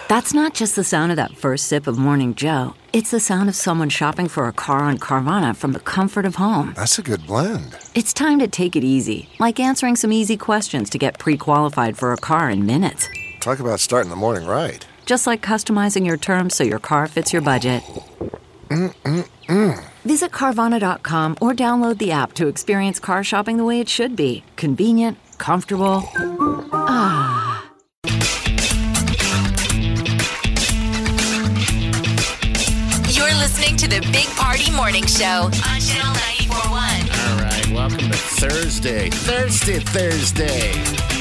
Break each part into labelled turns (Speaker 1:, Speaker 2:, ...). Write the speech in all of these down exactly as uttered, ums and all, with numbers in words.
Speaker 1: That's not just the sound of that first sip of Morning Joe. It's the sound of someone shopping for a car on Carvana from the comfort of home.
Speaker 2: That's a good blend.
Speaker 1: It's time to take it easy, like answering some easy questions to get pre-qualified for a car in minutes.
Speaker 2: Talk about starting the morning right.
Speaker 1: Just like customizing your terms so your car fits your budget.
Speaker 2: Mm-mm-mm.
Speaker 1: Visit Carvana dot com or download the app to experience car shopping the way it should be. Convenient, comfortable. Ah.
Speaker 3: You're listening to the Big Party Morning Show on Channel ninety-four point one.
Speaker 4: All right, welcome to Thursday. Thursday, Thursday.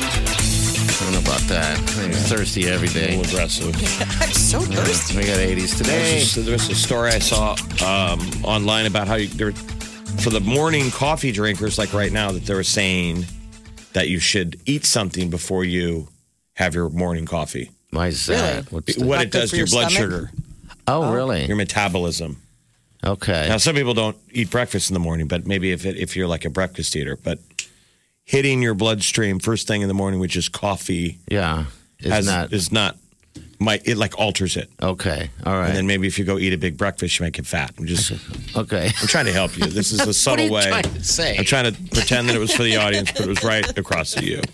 Speaker 4: I don't know about that. I'm thirsty every day.
Speaker 5: A little aggressive.
Speaker 6: I'm so thirsty.
Speaker 4: We got eighties today.
Speaker 5: There's, there's a story I saw um, online about how you, there, for the morning coffee drinkers, like right now, that they were saying that you should eat something before you have your morning coffee.
Speaker 4: Why is that?
Speaker 6: Really?
Speaker 4: What's the-
Speaker 5: What
Speaker 6: Not
Speaker 5: it
Speaker 6: good
Speaker 5: does
Speaker 6: for
Speaker 5: to your
Speaker 6: your
Speaker 5: blood
Speaker 6: stomach?
Speaker 5: sugar,
Speaker 4: oh, really?
Speaker 5: your metabolism.
Speaker 4: Okay.
Speaker 5: Now, some people don't eat breakfast in the morning, but maybe if it, if you're like a breakfast eater, but hitting your bloodstream first thing in the morning, which is coffee,
Speaker 4: Yeah. It's
Speaker 5: has,
Speaker 4: not.
Speaker 5: is not, might, it like alters it.
Speaker 4: Okay. All right.
Speaker 5: And then maybe if you go eat a big breakfast, you might get fat. I'm just,
Speaker 4: okay.
Speaker 5: I'm trying to help you. This is a subtle
Speaker 4: What are you
Speaker 5: way.
Speaker 4: trying to say?
Speaker 5: I'm trying to pretend that it was for the audience, but it was right across to you.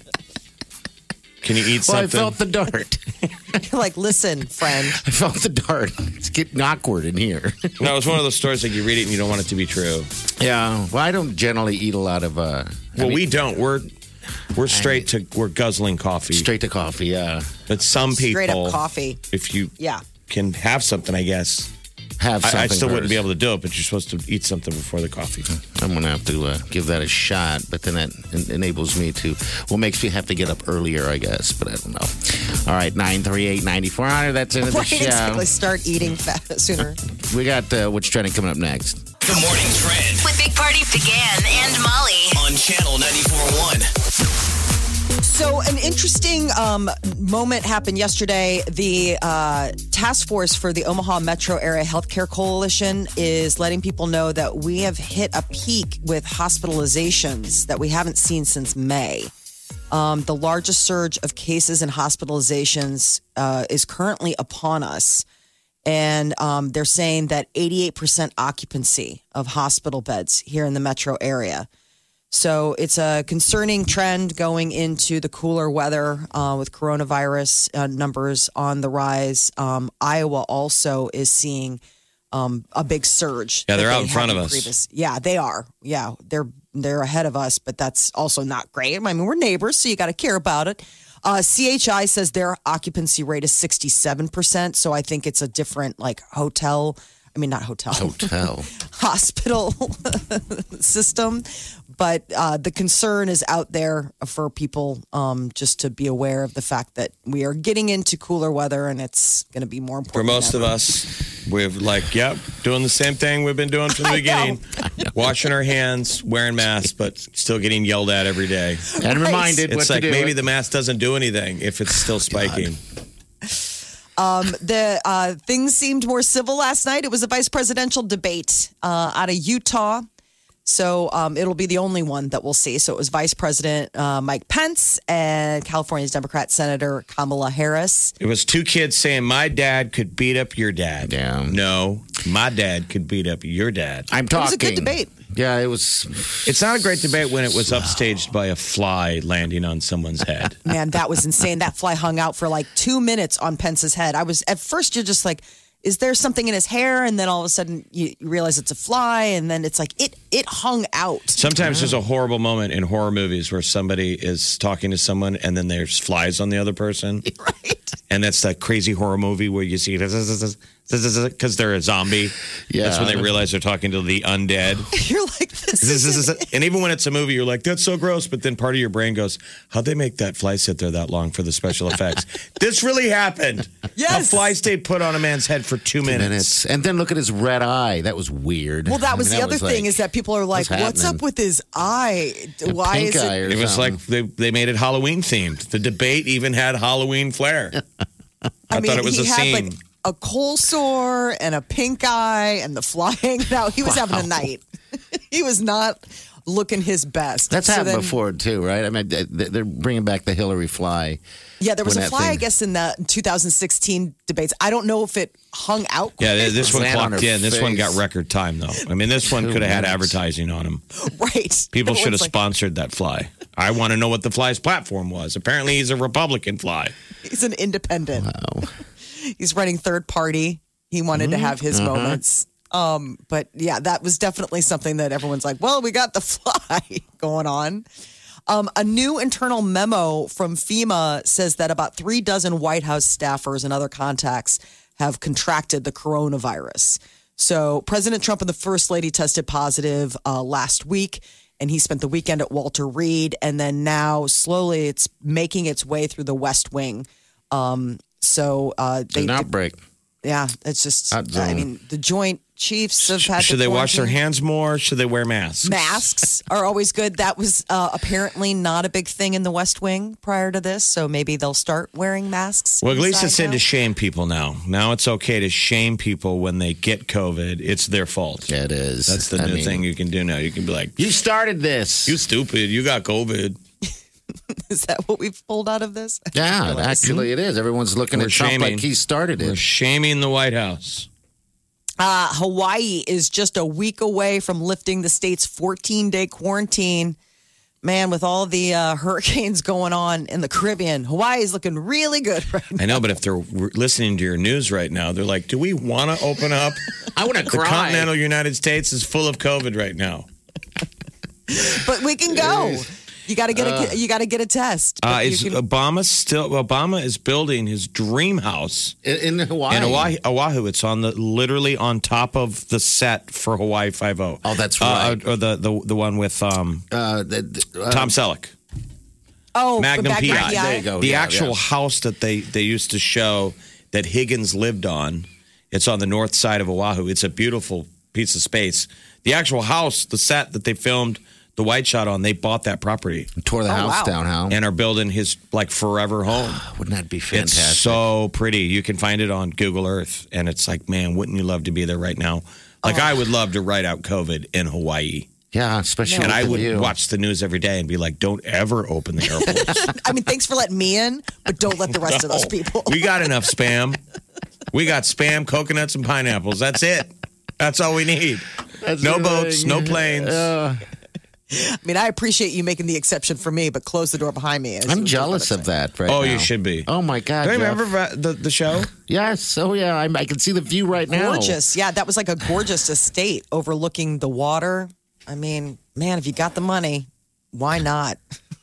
Speaker 5: Can you eat
Speaker 4: Well, I
Speaker 5: something?
Speaker 4: felt the dart.
Speaker 6: You're like, listen, friend.
Speaker 4: I felt the dart. It's getting awkward in here.
Speaker 5: No, it's one of those stories like you read it and you don't want it to be true.
Speaker 4: Yeah. Well, I don't generally eat a lot of. Uh,
Speaker 5: Well,
Speaker 4: I mean,
Speaker 5: we don't. We're we're straight to we're guzzling coffee.
Speaker 4: straight to coffee. Yeah.
Speaker 5: But some people,
Speaker 6: Straight up coffee.
Speaker 5: if you
Speaker 6: Yeah.
Speaker 5: can have something, I guess.
Speaker 4: Have something.
Speaker 5: I, I still wouldn't
Speaker 4: first.
Speaker 5: be able to do it, but you're supposed to eat something before the coffee.
Speaker 4: I'm gonna have to uh, give that a shot, but then that en- enables me to. Well, makes me have to get up earlier, I guess. But I don't know. All right, nine three eight ninety four hundred. That's into the
Speaker 6: Right,
Speaker 4: show.
Speaker 6: exactly. Start eating fat sooner.
Speaker 4: We got uh, what's trending coming up next.
Speaker 7: The morning trend
Speaker 3: With Big Party began and Molly.
Speaker 7: on Channel ninety-four point one.
Speaker 6: So, an interesting um, moment happened yesterday. The uh, task force for the Omaha Metro Area Healthcare Coalition is letting people know that we have hit a peak with hospitalizations that we haven't seen since May. Um, the largest surge of cases and hospitalizations uh, is currently upon us. And um, they're saying that eighty-eight percent occupancy of hospital beds here in the metro area. So it's a concerning trend going into the cooler weather uh, with coronavirus uh, numbers on the rise. Um, Iowa also is seeing um, a big surge.
Speaker 5: Yeah,
Speaker 6: that
Speaker 5: they're out
Speaker 6: they
Speaker 5: in front of
Speaker 6: hadn't
Speaker 5: us.
Speaker 6: previous- Yeah, they are. Yeah, they're they're ahead of us, but that's also not great. I mean, we're neighbors, so you got to care about it. Uh, C H I says their occupancy rate is sixty-seven percent. So I think it's a different like hotel. I mean, not hotel.
Speaker 4: Hotel.
Speaker 6: Hospital system. But uh, the concern is out there for people um, just to be aware of the fact that we are getting into cooler weather and it's going to be more important.
Speaker 5: For most
Speaker 6: than
Speaker 5: of
Speaker 6: ever.
Speaker 5: us, we're like, yep, doing the same thing we've been doing from the
Speaker 6: I
Speaker 5: beginning.
Speaker 4: know.
Speaker 5: Washing our hands, wearing masks, but still getting yelled at every day.
Speaker 4: And reminded what
Speaker 5: It's
Speaker 4: to
Speaker 5: like
Speaker 4: do.
Speaker 5: maybe the mask doesn't do anything if it's still spiking.
Speaker 6: Um, the uh, things seemed more civil last night. It was a vice presidential debate uh, out of Utah. So um, it'll be the only one that we'll see. So it was Vice President uh, Mike Pence and California's Democrat Senator Kamala Harris.
Speaker 5: It was two kids saying, my dad could beat up your dad.
Speaker 4: Yeah.
Speaker 5: No, my dad could beat up your dad.
Speaker 4: I'm talking.
Speaker 6: It was a good debate.
Speaker 4: Yeah, it was.
Speaker 5: It's not a great debate when it was upstaged by a fly landing on someone's head.
Speaker 6: Man, that was insane. That fly hung out for like two minutes on Pence's head. I was at first, you're just like, is there something in his hair? And then all of a sudden you you realize it's a fly. And then it's like, it it hung out.
Speaker 5: Sometimes there's a horrible moment in horror movies where somebody is talking to someone and then there's flies on the other person.
Speaker 6: Right.
Speaker 5: And that's that crazy horror movie where you see because they're a zombie.
Speaker 4: Yeah.
Speaker 5: That's when they realize they're talking to the undead.
Speaker 6: You're like, this is
Speaker 5: And even when it's a movie, you're like, that's so gross. But then part of your brain goes, how'd they make that fly sit there that long for the special effects? This really happened.
Speaker 6: Yes.
Speaker 5: A fly stayed put on a man's head for two minutes.
Speaker 4: minutes. And then look at his red eye. That was weird.
Speaker 6: Well, that
Speaker 4: I
Speaker 6: was
Speaker 4: mean,
Speaker 6: the other
Speaker 4: was
Speaker 6: thing
Speaker 4: like,
Speaker 6: is that people are like,
Speaker 4: what's
Speaker 6: what's
Speaker 4: happening?
Speaker 6: up with his eye? Why
Speaker 4: pink
Speaker 6: is
Speaker 4: eye
Speaker 6: it?
Speaker 4: or
Speaker 5: It was
Speaker 4: something.
Speaker 5: like they, they made it Halloween themed. The debate even had Halloween flair. I,
Speaker 6: mean,
Speaker 5: thought it was
Speaker 6: he
Speaker 5: a
Speaker 6: had
Speaker 5: scene.
Speaker 6: like a cold sore and a pink eye and the fly hanging out. He was having a night. He was not looking his best.
Speaker 4: That's
Speaker 6: So
Speaker 4: happened
Speaker 6: then-
Speaker 4: before too, right? I mean, they- they're bringing back the Hillary fly.
Speaker 6: Yeah, there was
Speaker 4: when
Speaker 6: a
Speaker 4: that
Speaker 6: fly, I
Speaker 4: thing-
Speaker 6: guess, in the two thousand sixteen debates. I don't know if it hung out.
Speaker 5: Yeah,
Speaker 6: quite
Speaker 5: this one
Speaker 4: Land on
Speaker 5: clocked
Speaker 4: her
Speaker 5: in. This one
Speaker 4: face.
Speaker 5: got record time, though. I mean, this one
Speaker 4: Two
Speaker 5: could have had
Speaker 4: minutes.
Speaker 5: advertising on him.
Speaker 6: right.
Speaker 5: People should have
Speaker 6: Everyone's like,
Speaker 5: sponsored that fly. I want to know what the fly's platform was. Apparently, he's a Republican fly.
Speaker 6: He's an independent.
Speaker 4: Wow.
Speaker 6: He's running third party. He wanted to have his moments. Um, but yeah, that was definitely something that everyone's like, well, we got the fly going on. Um, a new internal memo from FEMA says that about three dozen White House staffers and other contacts have contracted the coronavirus. So President Trump and the First Lady tested positive uh, last week, and he spent the weekend at Walter Reed. And then now slowly it's making its way through the West Wing. Um, so uh, they
Speaker 4: An
Speaker 6: did-
Speaker 4: outbreak.
Speaker 6: yeah, it's just,
Speaker 4: Hot zone.
Speaker 6: I mean, the Joint Chiefs have had
Speaker 5: Should
Speaker 6: to
Speaker 5: they wash their
Speaker 6: quarantine.
Speaker 5: hands more? Should they wear masks?
Speaker 6: Masks are always good. That was uh, apparently not a big thing in the West Wing prior to this, so maybe they'll start wearing masks.
Speaker 5: Well, at least
Speaker 6: inside
Speaker 5: it's in
Speaker 6: now.
Speaker 5: to shame people now. Now it's okay to shame people when they get COVID. It's their fault.
Speaker 4: Yeah, it is.
Speaker 5: That's the
Speaker 4: I
Speaker 5: new
Speaker 4: mean,
Speaker 5: thing you can do now. You can be like,
Speaker 4: You started this.
Speaker 5: you stupid. You got COVID.
Speaker 6: Is that what we've pulled out of this?
Speaker 4: yeah, actually, it is. Everyone's looking
Speaker 5: We're
Speaker 4: at Trump
Speaker 5: shaming.
Speaker 4: like he started
Speaker 5: We're
Speaker 4: it.
Speaker 5: shaming the White House.
Speaker 6: Uh, Hawaii is just a week away from lifting the state's fourteen-day quarantine. Man, with all the uh, hurricanes going on in the Caribbean, Hawaii is looking really good right now.
Speaker 5: I know, but if they're listening to your news right now, they're like, do we want to open up?
Speaker 4: I want to
Speaker 5: The
Speaker 4: cry.
Speaker 5: continental United States is full of COVID right now.
Speaker 6: But we can go. You got to get a you got to get a test. But
Speaker 5: Uh,
Speaker 6: you
Speaker 5: is
Speaker 6: can-
Speaker 5: Obama still? Obama is building his dream house
Speaker 4: in, in Hawaii.
Speaker 5: in Oahu. Oahu. It's on the literally on top of the set for Hawaii Five O.
Speaker 4: Oh, that's
Speaker 5: Uh,
Speaker 4: right.
Speaker 5: or the, the the one with um,
Speaker 4: Uh, the, the, uh,
Speaker 5: Tom Selleck.
Speaker 6: oh,
Speaker 5: Magnum
Speaker 6: Magnum
Speaker 5: P I.
Speaker 6: P I.
Speaker 4: There you go.
Speaker 5: The
Speaker 4: Yeah,
Speaker 5: actual
Speaker 4: yeah.
Speaker 5: house that they they used to show that Higgins lived on. It's on the north side of Oahu. It's a beautiful piece of space. The actual house, the set that they filmed the White Shot on, they bought that property
Speaker 4: Tore the
Speaker 6: Oh,
Speaker 4: house
Speaker 6: wow.
Speaker 4: down, how?
Speaker 5: and are building his like forever home.
Speaker 4: Wouldn't that be
Speaker 5: It's
Speaker 4: fantastic?
Speaker 5: so pretty. You can find it on Google Earth, and it's like, man, wouldn't you love to be there right now? Like,
Speaker 6: Oh.
Speaker 5: I would love to write out COVID in Hawaii,
Speaker 4: yeah, especially
Speaker 5: and
Speaker 4: with
Speaker 5: I
Speaker 4: the
Speaker 5: would
Speaker 4: view.
Speaker 5: watch the news every day and be like, don't ever open the airports.
Speaker 6: I mean, thanks for letting me in, but don't let the rest of those people.
Speaker 5: We got enough spam. We got spam, coconuts, and pineapples. That's it. That's all we need. no boats, no planes.
Speaker 4: Uh,
Speaker 6: I mean, I appreciate you making the exception for me, but close the door behind me.
Speaker 4: I'm jealous of that right
Speaker 5: oh,
Speaker 4: now.
Speaker 5: you should be.
Speaker 4: Oh, my God.
Speaker 5: Do you
Speaker 4: Jeff.
Speaker 5: remember the, the show?
Speaker 4: Yes. Oh, yeah. I, I can see the view right now.
Speaker 6: Gorgeous. Yeah, that was like a gorgeous estate overlooking the water. I mean, man, if you got the money, why not?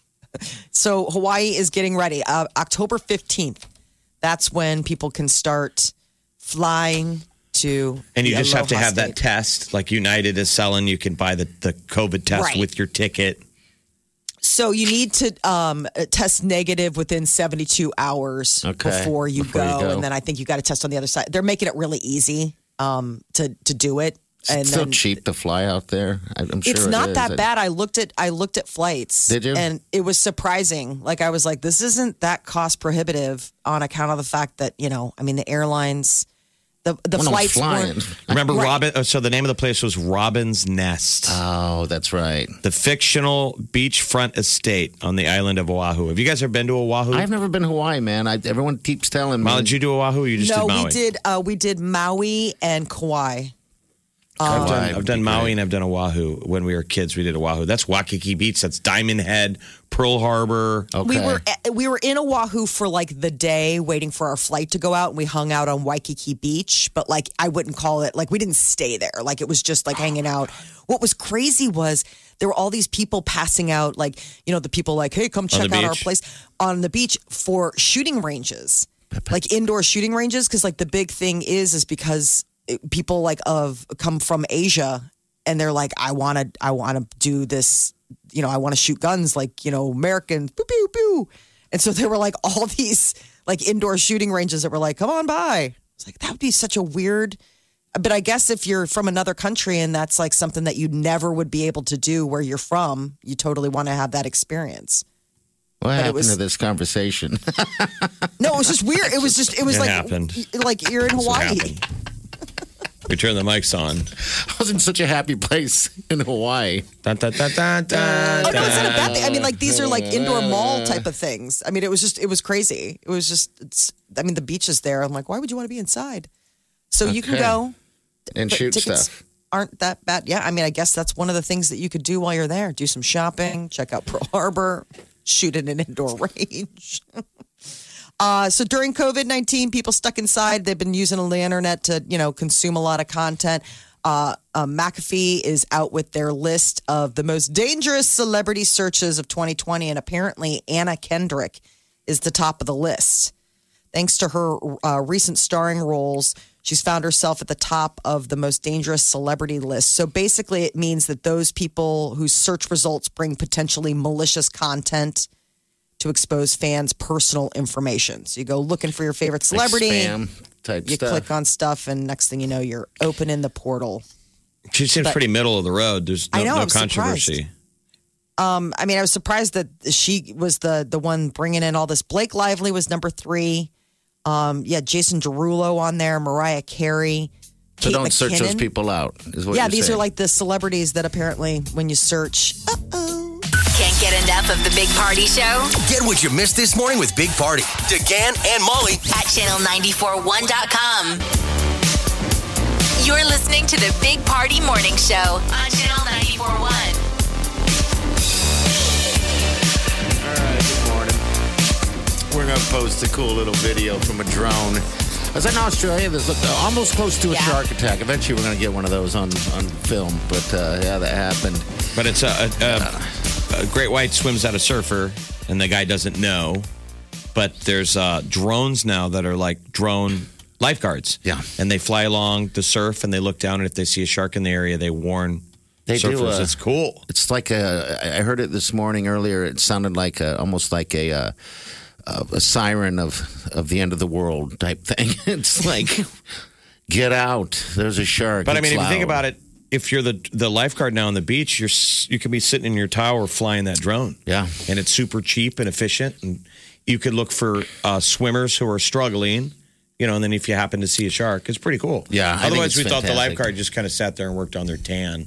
Speaker 6: So Hawaii is getting ready. Uh, October fifteenth, that's when people can start flying to
Speaker 5: And you
Speaker 6: the
Speaker 5: just have to
Speaker 6: Aloha
Speaker 5: have that
Speaker 6: State.
Speaker 5: test. Like United is selling, you can buy the, the COVID test
Speaker 6: Right.
Speaker 5: with your ticket.
Speaker 6: So you need to um, test negative within seventy-two hours
Speaker 4: Okay,
Speaker 6: before, you,
Speaker 4: before you
Speaker 6: go.
Speaker 4: go.
Speaker 6: And then I think you got to test on the other side. They're making it really easy um, to, to do it. And
Speaker 4: It's so
Speaker 6: then
Speaker 4: cheap to fly out there. I- I'm sure
Speaker 6: it's
Speaker 4: it
Speaker 6: not
Speaker 4: is.
Speaker 6: that
Speaker 4: I-
Speaker 6: bad. I looked at I looked at flights.
Speaker 4: Did you?
Speaker 6: And it was surprising. Like I was like, this isn't that cost prohibitive on account of the fact that, you know, I mean the airlines the the
Speaker 4: When I'm
Speaker 6: flights
Speaker 4: flying.
Speaker 6: weren't
Speaker 5: Remember
Speaker 6: Right.
Speaker 5: Robin? oh, So the name of the place was Robin's Nest,
Speaker 4: Oh, that's right.
Speaker 5: the fictional beachfront estate on the island of Oahu. Have you guys ever been to Oahu?
Speaker 4: I've never been to Hawaii, man. I, everyone keeps telling me.
Speaker 5: Molly, did you do Oahu? Or you just
Speaker 6: No,
Speaker 5: did Maui?
Speaker 6: we did uh, we did Maui and Kauai.
Speaker 5: I've done,
Speaker 4: Hawaii
Speaker 5: I've
Speaker 4: would
Speaker 5: done
Speaker 4: be
Speaker 5: Maui
Speaker 4: great.
Speaker 5: and I've done Oahu. When we were kids, we did Oahu. That's Waikiki Beach. That's Diamond Head, Pearl Harbor.
Speaker 4: Okay.
Speaker 6: We were we were in Oahu for like the day waiting for our flight to go out and we hung out on Waikiki Beach, but like I wouldn't call it like we didn't stay there. Like it was just like hanging out. What was crazy was there were all these people passing out like, you know, the people like, "Hey, come check
Speaker 5: the
Speaker 6: out our
Speaker 5: beach?
Speaker 6: place on the beach for shooting ranges." Like indoor shooting ranges cuz like the big thing is is because it- people like of come from Asia and they're like, I want to, I want to do this, you know, I want to shoot guns like, you know, Americans, pew, pew, pew. And so there were like all these like indoor shooting ranges that were like, come on by. It's like, that would be such a weird, but I guess if you're from another country and that's like something that you never would be able to do where you're from, you totally want to have that experience.
Speaker 4: What happened
Speaker 6: was-
Speaker 4: to this conversation?
Speaker 6: No, it was just weird. It was just, it was
Speaker 5: It
Speaker 6: like,
Speaker 5: happened.
Speaker 6: like you're in
Speaker 5: That's what
Speaker 6: Hawaii.
Speaker 5: happened. We turn the mics on.
Speaker 4: I was in such a happy place in Hawaii.
Speaker 5: Dun, dun, dun, dun, dun,
Speaker 6: Oh no, it's not a
Speaker 5: dun.
Speaker 6: bad thing. I mean, like these are like indoor mall type of things. I mean, it was just it was crazy. It was just it's. I mean, the beach is there. I'm like, why would you want to be inside? So you can
Speaker 4: Okay.
Speaker 6: go
Speaker 4: And
Speaker 6: but
Speaker 4: shoot
Speaker 6: tickets
Speaker 4: stuff.
Speaker 6: Aren't that bad? Yeah, I mean, I guess that's one of the things that you could do while you're there. Do some shopping, check out Pearl Harbor, shoot at an indoor range. uh, so during COVID nineteen, people stuck inside, they've been using the internet to, you know, consume a lot of content. Uh, uh, McAfee is out with their list of the most dangerous celebrity searches of twenty twenty, and apparently Anna Kendrick is the top of the list. Thanks to her uh, recent starring roles, she's found herself at the top of the most dangerous celebrity list. So basically, it means that those people whose search results bring potentially malicious content to expose fans' personal information. So you go looking for your favorite celebrity,
Speaker 4: Like spam type
Speaker 6: you
Speaker 4: stuff.
Speaker 6: click on stuff, and next thing you know, you're opening the portal.
Speaker 5: She seems
Speaker 6: But-
Speaker 5: pretty middle of the road. There's no,
Speaker 6: I know,
Speaker 5: no
Speaker 6: I'm surprised.
Speaker 5: controversy.
Speaker 6: Um, I mean, I was surprised that she was the the one bringing in all this. Blake Lively was number three. Um, yeah, Jason Derulo on there, Mariah Carey.
Speaker 4: So
Speaker 6: Kate
Speaker 4: don't search those
Speaker 6: McKinnon.
Speaker 4: people out. Is what
Speaker 6: Yeah,
Speaker 4: you're
Speaker 6: these
Speaker 4: saying.
Speaker 6: are like the celebrities that apparently, when you search, uh-oh.
Speaker 3: Can't get enough of the Big Party Show
Speaker 7: Get what you missed this morning with Big Party, DeGan and Molly.
Speaker 3: at channel nine four one dot com. You're listening to the Big Party Morning Show on channel nine four one.
Speaker 4: All right, good morning. We're going to post a cool little video from a drone. I was in Australia. There's uh, almost close to a
Speaker 6: Yeah.
Speaker 4: shark attack. Eventually, we're going to get one of those on, on film. But uh, yeah, that happened.
Speaker 5: But it's a, a, a, a great white swims at a surfer, and the guy doesn't know. But there's uh, drones now that are like drone lifeguards.
Speaker 4: Yeah.
Speaker 5: And they fly along the surf, and they look down, and if they see a shark in the area, they warn
Speaker 4: They do,
Speaker 5: surfers.
Speaker 4: uh,
Speaker 5: It's cool.
Speaker 4: It's like a. I heard it this morning earlier. It sounded like a, almost like a. Uh, a, a siren of of the end of the world type thing. It's like, get out! There's a shark.
Speaker 5: But I
Speaker 4: It's
Speaker 5: mean, if you think
Speaker 4: loud.
Speaker 5: about it, if you're the the lifeguard now on the beach, you're s- you could be sitting in your tower flying that drone.
Speaker 4: Yeah.
Speaker 5: and it's super cheap and efficient, and you could look for uh, swimmers who are struggling. You know, and then if you happen to see a shark, it's pretty cool.
Speaker 4: Yeah, I think
Speaker 5: Otherwise,
Speaker 4: it's
Speaker 5: we thought the
Speaker 4: fantastic.
Speaker 5: lifeguard just kind of sat there and worked on their tan,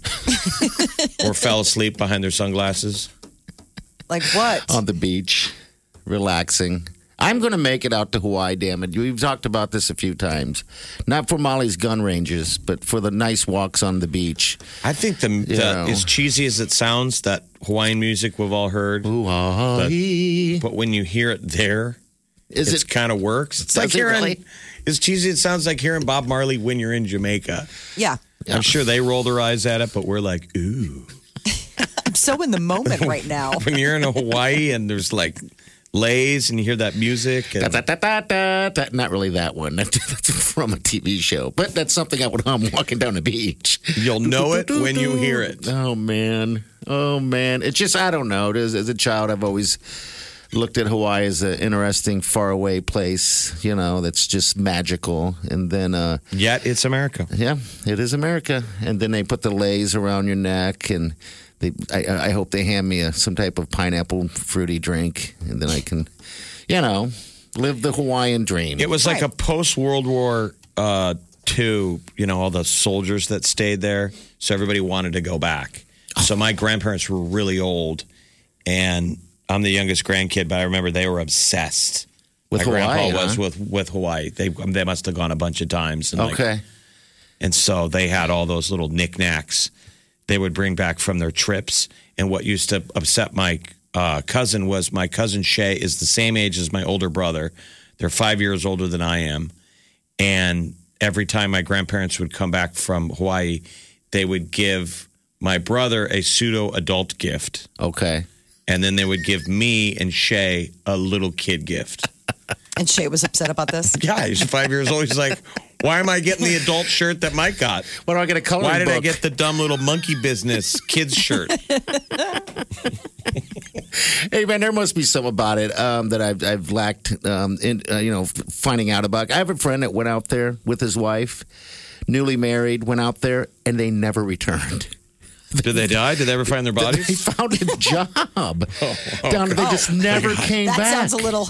Speaker 5: or fell asleep behind their sunglasses.
Speaker 6: Like what?
Speaker 4: on the beach, relaxing. I'm going to make it out to Hawaii, damn it. We've talked about this a few times. Not for Molly's gun ranges, but for the nice walks on the beach.
Speaker 5: I think the, the
Speaker 4: Yeah.
Speaker 5: as cheesy as it sounds, that Hawaiian music we've all heard,
Speaker 4: Hawaii.
Speaker 5: but when you hear it there,
Speaker 4: Is
Speaker 5: it
Speaker 4: it?
Speaker 5: kind of works. It's
Speaker 4: Does
Speaker 5: like
Speaker 4: it
Speaker 5: hearing,
Speaker 4: really?
Speaker 5: as cheesy as it sounds like hearing Bob Marley when you're in Jamaica.
Speaker 6: Yeah.
Speaker 5: I'm sure they roll their eyes at it, but we're like, ooh.
Speaker 6: I'm so in the moment right now.
Speaker 5: When you're in Hawaii and there's like lays and you hear that music. And
Speaker 4: Da, da, da, da, da. Not really that one. That's from a T V show. But that's something I would hum walking down the beach.
Speaker 5: you'll know it when you hear it.
Speaker 4: Oh, man. Oh, man. It's just, I don't know. As, as a child, I've always looked at Hawaii as an interesting, faraway place, you know, that's just magical. And then, uh,
Speaker 5: Yet it's America.
Speaker 4: yeah, it is America. And then they put the lays around your neck, and they, I, I hope they hand me a, some type of pineapple fruity drink, and then I can, you know, live the Hawaiian dream.
Speaker 5: It was like
Speaker 6: Right.
Speaker 5: a post World War uh, Two, you know, all the soldiers that stayed there. So everybody wanted to go back. So my grandparents were really old, and I'm the youngest grandkid, but I remember they were obsessed.
Speaker 4: With
Speaker 5: my
Speaker 4: Hawaii,
Speaker 5: grandpa was
Speaker 4: huh?
Speaker 5: with, with Hawaii. They they must have gone a bunch of times. And like,
Speaker 4: Okay.
Speaker 5: and so they had all those little knickknacks they would bring back from their trips. And what used to upset my uh, cousin was my cousin Shay is the same age as my older brother. They're five years older than I am. And every time my grandparents would come back from Hawaii, they would give my brother a pseudo adult gift.
Speaker 4: Okay.
Speaker 5: And then they would give me and Shay a little kid gift.
Speaker 6: And Shay was upset about this.
Speaker 5: Yeah, he's five years old. He's like, why am I getting the adult shirt that Mike got?
Speaker 4: Why do I get a coloring
Speaker 5: Why did I
Speaker 4: book?
Speaker 5: get the dumb little monkey business kids shirt?
Speaker 4: Hey man, there must be some about it um, that I've I've lacked, um, in uh, you know, f- finding out about. I have a friend that went out there with his wife, newly married, went out there, and they never returned.
Speaker 5: Did they die? Did they ever find their
Speaker 4: They
Speaker 5: bodies?
Speaker 4: found a job down there. They just never came
Speaker 6: That
Speaker 4: back.
Speaker 6: sounds a little.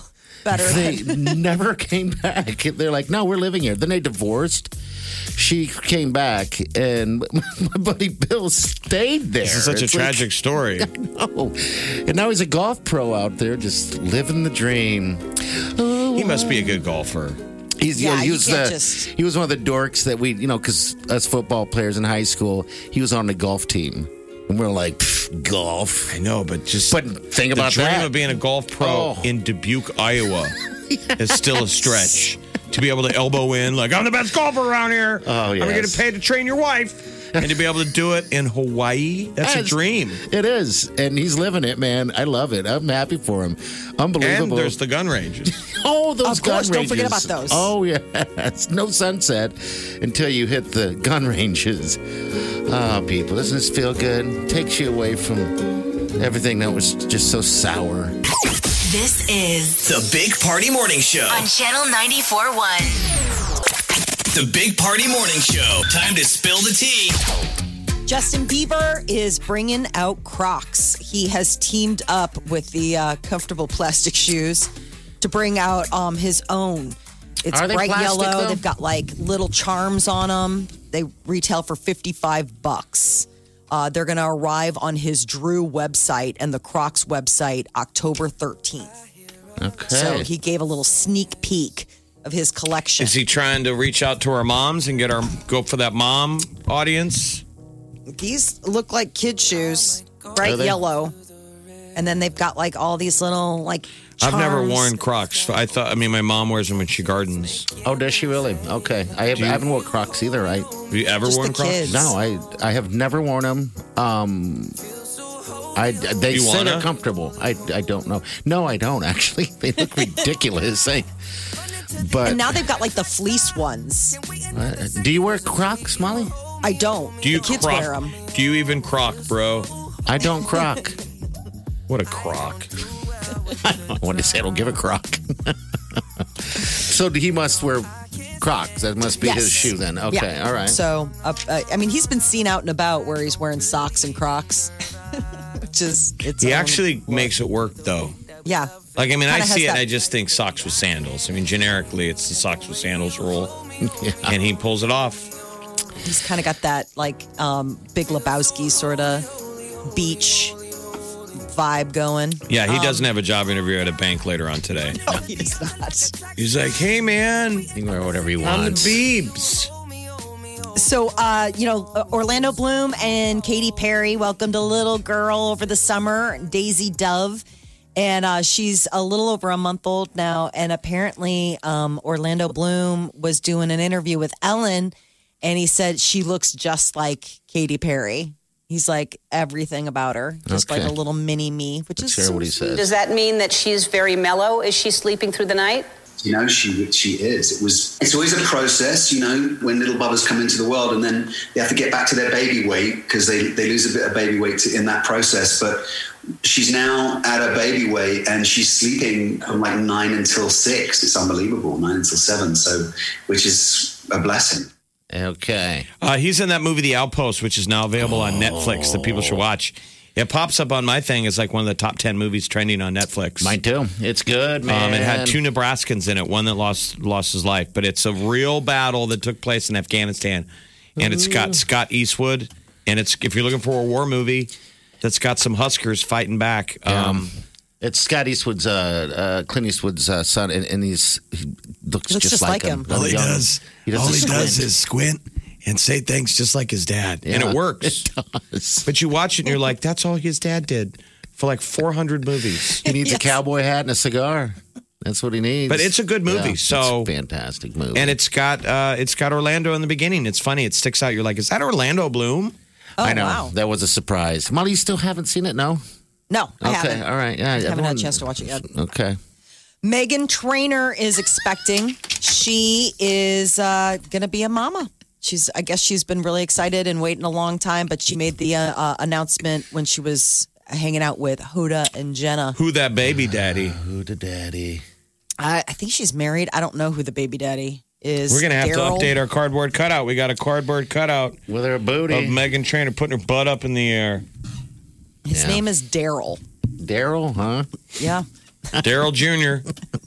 Speaker 6: better.
Speaker 4: They
Speaker 6: than-
Speaker 4: never came back. They're like, no, we're living here. Then they divorced. She came back, and my buddy Bill stayed there.
Speaker 5: This is such
Speaker 4: It's
Speaker 5: a
Speaker 4: like,
Speaker 5: tragic story.
Speaker 4: oh. And now he's a golf pro out there, just living the dream. Oh,
Speaker 5: He must be a good golfer.
Speaker 4: He's,
Speaker 6: Yeah,
Speaker 4: yeah, he
Speaker 6: you
Speaker 4: was
Speaker 6: can't
Speaker 4: the,
Speaker 6: just-
Speaker 4: he was one of the dorks that we, you know, because us football players in high school, he was on the golf team. And we're like, "Pff, golf.
Speaker 5: I know, but just
Speaker 4: But think
Speaker 5: the
Speaker 4: about
Speaker 5: dream
Speaker 4: that.
Speaker 5: of being a golf pro
Speaker 4: Oh.
Speaker 5: in Dubuque, Iowa, is still a stretch. To be able to elbow in, like, I'm the best golfer around here.
Speaker 4: Oh,
Speaker 5: I'm
Speaker 4: yes.
Speaker 5: getting paid to train your wife. And to be able to do it in Hawaii, that's a
Speaker 4: Yes.
Speaker 5: dream.
Speaker 4: It is. And he's living it, man. I love it. I'm happy for him. Unbelievable.
Speaker 5: And there's the gun ranges.
Speaker 4: Oh, those
Speaker 6: Of course,
Speaker 4: gun
Speaker 6: don't forget
Speaker 4: ranges.
Speaker 6: about those.
Speaker 4: Oh, yeah. It's no sunset until you hit the gun ranges. Oh, people, doesn't this feel good? Takes you away from everything that was just so sour.
Speaker 3: This is
Speaker 7: The Big Party Morning Show.
Speaker 3: on Channel ninety-four point one.
Speaker 7: The Big Party Morning Show. Time to spill the tea.
Speaker 6: Justin Bieber is bringing out Crocs. He has teamed up with the uh, comfortable plastic shoes to bring out um, his own. It's
Speaker 4: Are they
Speaker 6: bright
Speaker 4: plastic,
Speaker 6: yellow.
Speaker 4: though?
Speaker 6: They've got like little charms on them. They retail for fifty-five bucks. Uh, they're going to arrive on his Drew website and the Crocs website October thirteenth.
Speaker 4: Okay.
Speaker 6: So he gave a little sneak peek of his collection.
Speaker 5: Is he trying to reach out to our moms and get our go for that mom audience?
Speaker 6: These look like kid shoes, bright
Speaker 4: Are they?
Speaker 6: yellow. And then they've got like all these little like charms.
Speaker 5: I've never worn Crocs. I thought. I mean, my mom wears them when she gardens.
Speaker 4: Oh, does she really? Okay. I, have, I haven't worn Crocs either. I
Speaker 5: Have you ever
Speaker 6: Just
Speaker 5: worn
Speaker 6: the
Speaker 5: Crocs?
Speaker 6: kids.
Speaker 4: No, I I have never worn them. Um, I they
Speaker 5: You
Speaker 4: say
Speaker 5: wanna?
Speaker 4: they're comfortable. I I don't know. No, I don't actually. They look ridiculous. I, but
Speaker 6: And now they've got like the fleece ones.
Speaker 4: uh, do you wear Crocs, Molly?
Speaker 6: I don't.
Speaker 5: Do you
Speaker 6: the kids
Speaker 5: croc?
Speaker 6: wear them.
Speaker 5: Do you even croc, bro?
Speaker 4: I don't croc.
Speaker 5: What a croc!
Speaker 4: I wanted to say I don't give a croc. So he must wear Crocs. That must be his shoe then. Okay,
Speaker 6: Yeah.
Speaker 4: all right.
Speaker 6: So, uh, uh, I mean, he's been seen out and about where he's wearing socks and Crocs, which is it's.
Speaker 5: He actually makes it work, though.
Speaker 6: Yeah.
Speaker 5: Like, I mean, I
Speaker 6: Kinda
Speaker 5: see
Speaker 6: has
Speaker 5: it and
Speaker 6: that-
Speaker 5: I just think socks with sandals. I mean, generically, it's the socks with sandals rule.
Speaker 4: Yeah.
Speaker 5: And he pulls it off.
Speaker 6: He's kind of got that like um, Big Lebowski sort of beach vibe going.
Speaker 5: Yeah, he
Speaker 6: Um,
Speaker 5: doesn't have a job interview at a bank later on today.
Speaker 6: No, he does not.
Speaker 5: He's like, hey, man,
Speaker 4: He can wear whatever he
Speaker 5: I'm the
Speaker 4: wants.
Speaker 5: Beebs.
Speaker 6: So, uh, you know, uh, Orlando Bloom and Katy Perry welcomed a little girl over the summer, Daisy Dove. And uh, she's a little over a month old now. And apparently, um, Orlando Bloom was doing an interview with Ellen, and he said she looks just like Katy Perry. He's like everything about her, just
Speaker 4: Okay.
Speaker 6: like a little mini me, which
Speaker 4: Let's
Speaker 6: is
Speaker 4: hear what he says.
Speaker 8: Does that mean that she's very mellow? Is she sleeping through the night?
Speaker 9: You know, she she is. It was. It's always a process, you know, when little bubbers come into the world, and then they have to get back to their baby weight because they they lose a bit of baby weight in that process. But she's now at her baby weight, and she's sleeping from like nine until six. It's unbelievable, nine until seven. So, which is a blessing.
Speaker 4: Okay.
Speaker 5: Uh, he's in that movie, The Outpost, which is now available on Netflix that people should watch. It pops up on my thing as like one of the top ten movies trending on Netflix.
Speaker 4: Mine too. It's good, man.
Speaker 5: Um, it had two Nebraskans in it, one that lost lost his life, but it's a real battle that took place in Afghanistan, and it's got Scott Eastwood, and it's if you're looking for a war movie that's got some Huskers fighting back. Um,
Speaker 4: It's Scott Eastwood's, uh, uh, Clint Eastwood's uh, son, and, and he's he looks,
Speaker 6: Looks
Speaker 4: just,
Speaker 6: just
Speaker 4: like
Speaker 6: like
Speaker 4: him.
Speaker 6: him.
Speaker 5: all he
Speaker 4: Young.
Speaker 5: does,
Speaker 4: He does
Speaker 5: all
Speaker 4: the
Speaker 5: he does
Speaker 4: squint.
Speaker 5: is squint and say things just like his dad, and
Speaker 4: Yeah,
Speaker 5: it works.
Speaker 4: It does.
Speaker 5: But you watch it and you're like, that's all his dad did for like four hundred movies.
Speaker 4: He needs a cowboy hat and a cigar. That's what he needs.
Speaker 5: But it's a good movie,
Speaker 4: Yeah,
Speaker 5: so-
Speaker 4: it's a fantastic movie.
Speaker 5: And it's got uh, it's got Orlando in the beginning. It's funny. It sticks out. You're like, is that Orlando Bloom?
Speaker 6: Oh,
Speaker 4: I know
Speaker 6: wow.
Speaker 4: that was a surprise. Molly, you still haven't seen it? No.
Speaker 6: No, I
Speaker 4: Okay.
Speaker 6: haven't.
Speaker 4: All right. Yeah.
Speaker 6: I haven't
Speaker 4: everyone-
Speaker 6: had a chance to watch it yet.
Speaker 4: Okay.
Speaker 6: Megan Trainor is expecting. She is uh, going to be a mama. She's, I guess, she's been really excited and waiting a long time. But she made the uh, uh, announcement when she was hanging out with Hoda and Jenna.
Speaker 5: Who that baby daddy?
Speaker 4: Who the daddy?
Speaker 6: I, I think she's married. I don't know who the baby daddy is.
Speaker 5: We're gonna have
Speaker 6: Daryl?
Speaker 5: to update our cardboard cutout. We got a cardboard cutout
Speaker 4: With her booty.
Speaker 5: of Megan Trainor putting her butt up in the air.
Speaker 6: His
Speaker 4: Yeah.
Speaker 6: name is Daryl.
Speaker 4: Daryl, huh?
Speaker 6: Yeah.
Speaker 5: Daryl Junior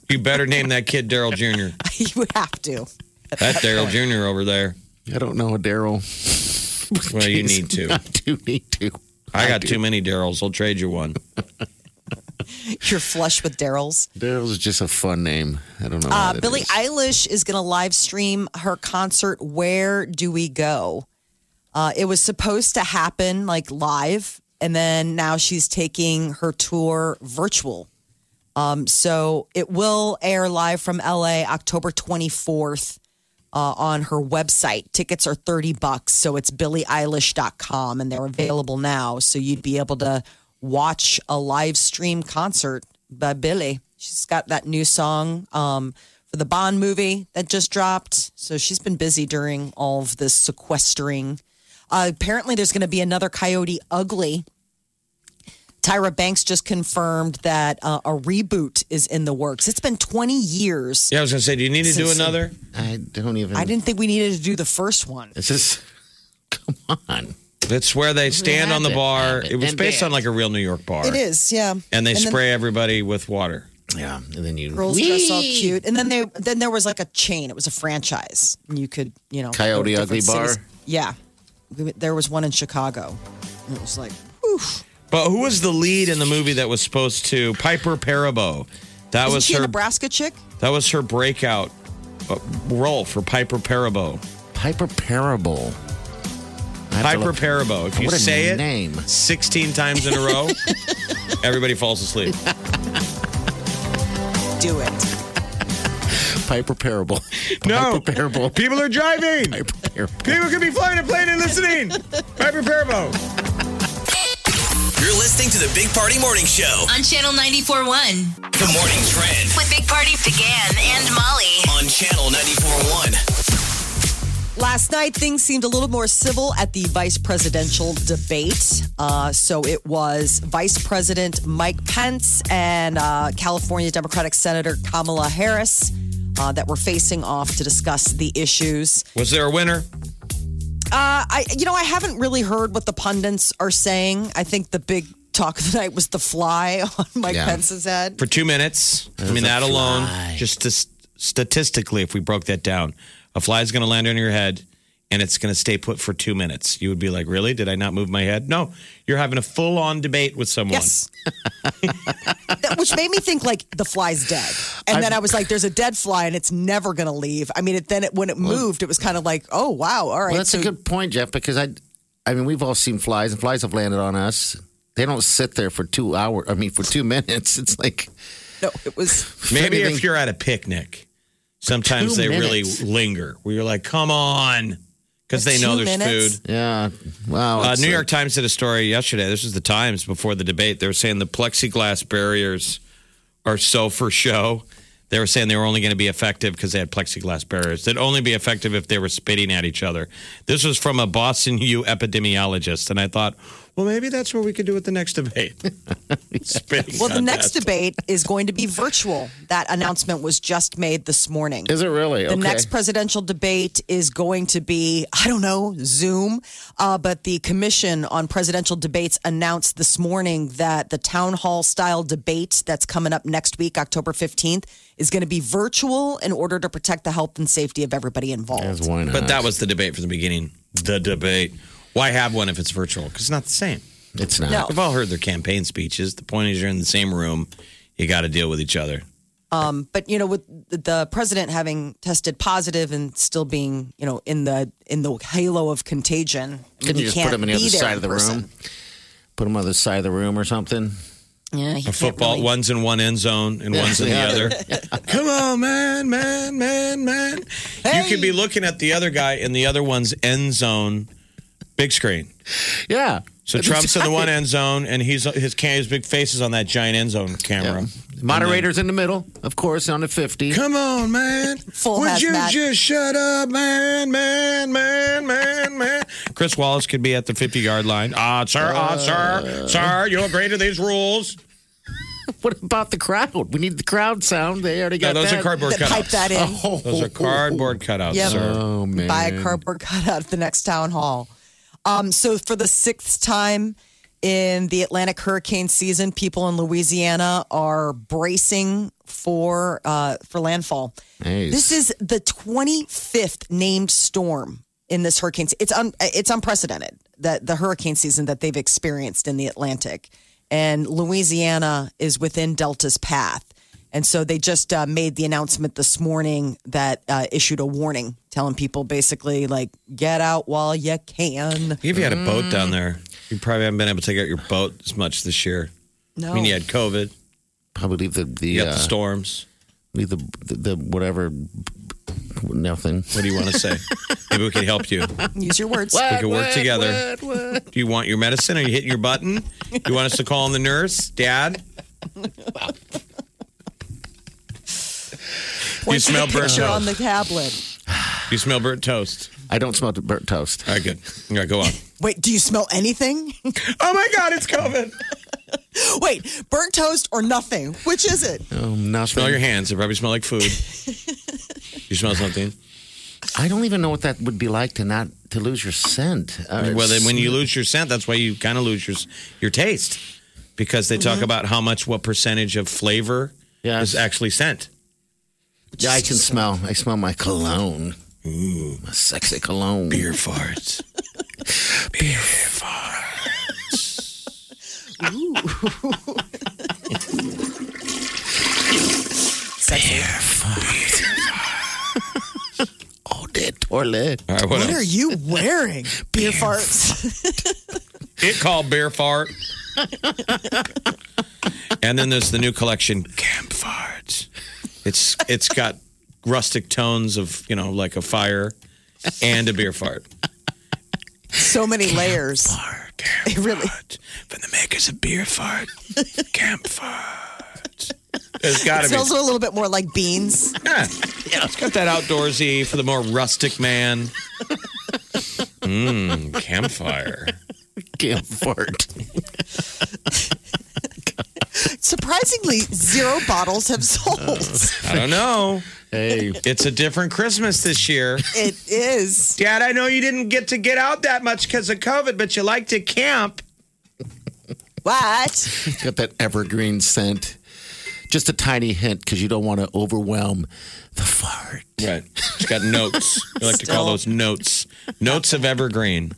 Speaker 5: You better name that kid Daryl Junior
Speaker 6: You would have to.
Speaker 5: That Daryl Junior over there.
Speaker 4: I don't know a Daryl.
Speaker 5: Well, you need to.
Speaker 4: I do need to.
Speaker 5: I got too many Daryls. I'll trade you one.
Speaker 6: You're flush with Daryl's.
Speaker 4: Daryl's is just a fun name. I don't know.
Speaker 6: Uh,
Speaker 4: what it
Speaker 6: Billie
Speaker 4: is.
Speaker 6: Eilish is going to live stream her concert. Where do we go? Uh, it was supposed to happen like live, and then now she's taking her tour virtual. Um, so it will air live from L A October twenty-fourth uh, on her website. Tickets are thirty bucks, so it's billie eilish dot com, and they're available now. So you'd be able to watch a live stream concert by Billie. She's got that new song um, for the Bond movie that just dropped. So she's been busy during all of this sequestering. Uh, apparently, there's going to be another Coyote Ugly. Tyra Banks just confirmed that uh, a reboot is in the works. It's been twenty years.
Speaker 5: Yeah, I was going to say, do you need to do
Speaker 6: Since-
Speaker 5: another?
Speaker 4: I don't even.
Speaker 6: I didn't think we needed to do the first one.
Speaker 4: It's just. Come on.
Speaker 5: It's where they stand on the bar.
Speaker 4: Have it,
Speaker 5: It was
Speaker 4: and
Speaker 5: based on
Speaker 4: dance.
Speaker 5: like a real New York bar.
Speaker 6: It is, yeah.
Speaker 5: And they
Speaker 6: then
Speaker 5: spray everybody with water.
Speaker 4: Yeah, and then you.
Speaker 6: girls dress all cute, and then they then there was like a chain. It was a franchise, and you could you know
Speaker 4: Coyote
Speaker 6: go to
Speaker 4: Ugly
Speaker 6: different
Speaker 4: Bar?
Speaker 6: cities. Yeah, there was one in Chicago. And it was like, whew.
Speaker 5: But who was the lead in the movie that was supposed to Piper Perabo? That
Speaker 6: Isn't
Speaker 5: was
Speaker 6: she a
Speaker 5: her.
Speaker 6: Nebraska chick?
Speaker 5: That was her breakout uh, role for Piper Perabo.
Speaker 4: Piper Parable. I have to
Speaker 5: Piper
Speaker 4: look-
Speaker 5: Perabo. If you
Speaker 4: What a
Speaker 5: say it
Speaker 4: name.
Speaker 5: sixteen times in a row, everybody falls asleep.
Speaker 6: Do it.
Speaker 4: Piper Parable.
Speaker 5: No.
Speaker 4: Piper Parable.
Speaker 5: People are driving.
Speaker 4: Piper Parable.
Speaker 5: People could be flying a plane and listening. Piper Perabo.
Speaker 7: You're listening to the Big Party Morning Show.
Speaker 3: On Channel ninety-four point one.
Speaker 7: The Morning Trend
Speaker 3: With Big Party began and Molly.
Speaker 7: on Channel ninety-four point one.
Speaker 6: Last night, things seemed a little more civil at the vice presidential debate. Uh, so it was Vice President Mike Pence and uh, California Democratic Senator Kamala Harris uh, that were facing off to discuss the issues.
Speaker 5: Was there a winner?
Speaker 6: Uh, I, you know, I haven't really heard what the pundits are saying. I think the big talk of the night was the fly on Mike
Speaker 4: Yeah.
Speaker 6: Pence's head.
Speaker 5: For two minutes. I
Speaker 4: There's
Speaker 5: mean,
Speaker 4: a
Speaker 5: that alone,
Speaker 4: fly.
Speaker 5: just to, statistically, if we broke that down, a fly is going to land on your head and it's going to stay put for two minutes. You would be like, really? Did I not move my head? No, you're having a full on debate with someone.
Speaker 6: Yes. That- Which made me think like the fly's dead. And then I was like, there's a dead fly and it's never going to leave. I mean, it, then it, when it moved, it was kind of like, oh, wow. All right.
Speaker 4: Well, that's
Speaker 6: so
Speaker 4: a good point, Jeff, because I, I mean, we've all seen flies, and flies have landed on us. They don't sit there for two hours. I mean, for two minutes. It's like
Speaker 6: no, it was.
Speaker 5: Maybe
Speaker 4: anything-
Speaker 5: if you're at a picnic, sometimes
Speaker 4: Two
Speaker 5: they
Speaker 4: minutes.
Speaker 5: really linger where you're like, come on. Because they know
Speaker 6: Two
Speaker 5: there's
Speaker 6: minutes?
Speaker 5: food.
Speaker 4: yeah, wow.
Speaker 5: Uh,
Speaker 4: it's
Speaker 5: New
Speaker 4: like-
Speaker 5: York Times did a story yesterday. This was the Times before the debate. They were saying the plexiglass barriers are so for show. They were saying they were only going to be effective because they had plexiglass barriers. They'd only be effective if they were spitting at each other. This was from a Boston U epidemiologist. And I thought, well, maybe that's what we could do with the next debate. Spitting
Speaker 6: Well, the next
Speaker 5: contest.
Speaker 6: debate is going to be virtual. That announcement was just made this morning.
Speaker 4: Is it really?
Speaker 6: The
Speaker 4: Okay.
Speaker 6: next presidential debate is going to be, I don't know, Zoom. Uh, but the Commission on Presidential Debates announced this morning that the town hall style debate that's coming up next week, October fifteenth, is going to be virtual in order to protect the health and safety of everybody involved.
Speaker 4: Yes, why not?
Speaker 5: But that was the debate from the beginning. The debate. Why have one if it's virtual? Because it's not the same.
Speaker 4: It's not.
Speaker 6: No.
Speaker 5: We've all heard their campaign speeches. The point is, you're in the same room. You got to deal with each other.
Speaker 6: Um, but you know, with the president having tested positive and still being, you know, in the in the halo of contagion,
Speaker 4: Can
Speaker 6: he
Speaker 4: you just
Speaker 6: can't
Speaker 4: put them on the
Speaker 6: be
Speaker 4: other
Speaker 6: there
Speaker 4: side
Speaker 6: in
Speaker 4: of the
Speaker 6: person.
Speaker 4: room? Put them on the other side of the room or something?
Speaker 6: Yeah, he
Speaker 5: A
Speaker 6: can't
Speaker 5: football,
Speaker 6: really-
Speaker 5: one's in one end zone and
Speaker 4: Yeah,
Speaker 5: one's in the
Speaker 4: yeah.
Speaker 5: other. Come on, man, man, man, man. You could be looking at the other guy in the other one's end zone, big screen.
Speaker 4: Yeah.
Speaker 5: So
Speaker 4: That's
Speaker 5: Trump's in the one
Speaker 4: right.
Speaker 5: end zone, and he's his ca- his big face is on that giant end zone camera.
Speaker 4: Yeah. Moderator's in the middle, of course, on the fifty.
Speaker 5: Come on, man.
Speaker 6: Full
Speaker 5: Would you
Speaker 6: hazmat.
Speaker 5: just shut up, man, man, man, man, man? Chris Wallace could be at the fifty-yard line. Ah, sir, ah, sir, sir, you agree to these rules?
Speaker 4: What about the crowd? We need the crowd sound. They already
Speaker 5: No,
Speaker 4: got
Speaker 5: those
Speaker 4: that.
Speaker 5: are cardboard
Speaker 6: That pipe
Speaker 5: cutouts.
Speaker 6: that in.
Speaker 4: Oh,
Speaker 5: Those are cardboard cutouts,
Speaker 6: Yep.
Speaker 5: sir.
Speaker 4: Oh, man.
Speaker 6: Buy a cardboard cutout at the next town hall. Um, so for the sixth time in the Atlantic hurricane season, people in Louisiana are bracing for uh, for landfall.
Speaker 4: Nice.
Speaker 6: This is the twenty-fifth named storm in this hurricane. It's un, it's unprecedented, that the hurricane season that they've experienced in the Atlantic. And Louisiana is within Delta's path. And so they just uh, made the announcement this morning that uh, issued a warning telling people basically, like, get out while you can.
Speaker 5: If you had a boat down there, you probably haven't been able to take out your boat as much this year.
Speaker 6: No.
Speaker 5: I mean, you had COVID.
Speaker 4: Probably leave the the,
Speaker 5: You got
Speaker 4: uh,
Speaker 5: the storms.
Speaker 4: leave the, the the whatever nothing.
Speaker 5: What do you want to say? Maybe we can help you.
Speaker 6: Use your words.
Speaker 5: We can work
Speaker 4: What,
Speaker 5: together.
Speaker 4: what, what?
Speaker 5: Do you want your medicine? Are you hitting your button? Do you want us to call in the nurse? Dad?
Speaker 6: Point to the
Speaker 5: smell burnt
Speaker 6: picture
Speaker 5: toast.
Speaker 6: on the tablet.
Speaker 5: You smell burnt toast.
Speaker 4: I don't smell burnt toast.
Speaker 5: All right, good. All right, go on.
Speaker 6: Wait, do you smell anything?
Speaker 5: Oh, my God, it's COVID.
Speaker 6: Wait, burnt toast or nothing? Which is it?
Speaker 4: Oh, nothing.
Speaker 5: Smell your hands. They probably smell like food. You smell something?
Speaker 4: I don't even know what that would be like to not to lose your scent. Uh,
Speaker 5: Well, then when you lose your scent, that's why you kind of lose your your taste, because they talk about how much, what percentage of flavor
Speaker 4: Yes.
Speaker 5: is actually scent.
Speaker 4: Yeah, I can smell. I smell my cologne. Ooh, my sexy cologne.
Speaker 5: Beer farts. Beer farts.
Speaker 6: Sexy.
Speaker 4: Beer fart. Oh, dead toilet.
Speaker 5: All right, what,
Speaker 6: What
Speaker 5: else?
Speaker 6: are you wearing? Beer farts.
Speaker 5: It called Beer Fart. And then there's the new collection, Camp Farts. It's it's got rustic tones of, you know, like a fire and a beer fart.
Speaker 6: So many layers.
Speaker 5: Fart, Camp
Speaker 6: It really-
Speaker 5: Fart. From the makers of Beer Fart, Camp Fart. There's got
Speaker 6: It
Speaker 5: to be.
Speaker 6: smells a little bit more like beans.
Speaker 5: Yeah. Yeah, it's got that outdoorsy for the more rustic man. Mmm, campfire.
Speaker 4: Camp fart.
Speaker 6: Surprisingly, zero bottles have sold.
Speaker 5: I don't know.
Speaker 4: Hey,
Speaker 5: It's a different Christmas this year.
Speaker 6: It is.
Speaker 5: Dad, I know you didn't get to get out that much because of COVID, but you like to camp.
Speaker 6: What?
Speaker 4: got that evergreen scent. Just a tiny hint because you don't want to overwhelm the fart.
Speaker 5: Right. It's got notes. We like to call
Speaker 6: Still.
Speaker 5: those notes. Notes of evergreen.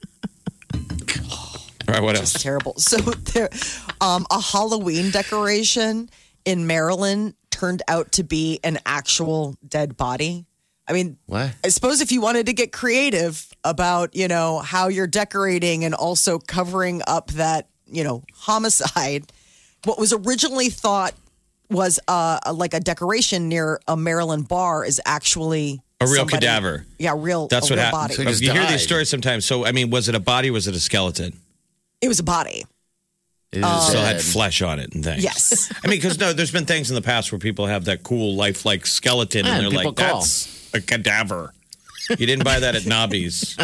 Speaker 5: All right, what else?
Speaker 6: Terrible. So there, um, a Halloween decoration in Maryland turned out to be an actual dead body. I mean,
Speaker 4: What?
Speaker 6: I suppose if you wanted to get creative about, you know, how you're decorating and also covering up that, you know, homicide, what was originally thought was uh, like a decoration near a Maryland bar is actually
Speaker 5: A real
Speaker 6: somebody-
Speaker 5: cadaver.
Speaker 6: Yeah, real.
Speaker 5: That's
Speaker 6: a
Speaker 5: what
Speaker 6: real
Speaker 5: happened.
Speaker 6: body.
Speaker 4: So just
Speaker 5: You hear
Speaker 4: died.
Speaker 5: these stories sometimes. So, I mean, was it a body? Was it a skeleton?
Speaker 6: It was a body.
Speaker 4: It
Speaker 6: Um,
Speaker 4: is
Speaker 5: Still had
Speaker 4: dead.
Speaker 5: flesh on it and things.
Speaker 6: Yes.
Speaker 5: I mean, because no, there's been things in the past where people have that cool lifelike skeleton,
Speaker 4: Yeah,
Speaker 5: and they're
Speaker 4: people
Speaker 5: like,
Speaker 4: call.
Speaker 5: "That's a cadaver." You didn't buy that at Nobby's.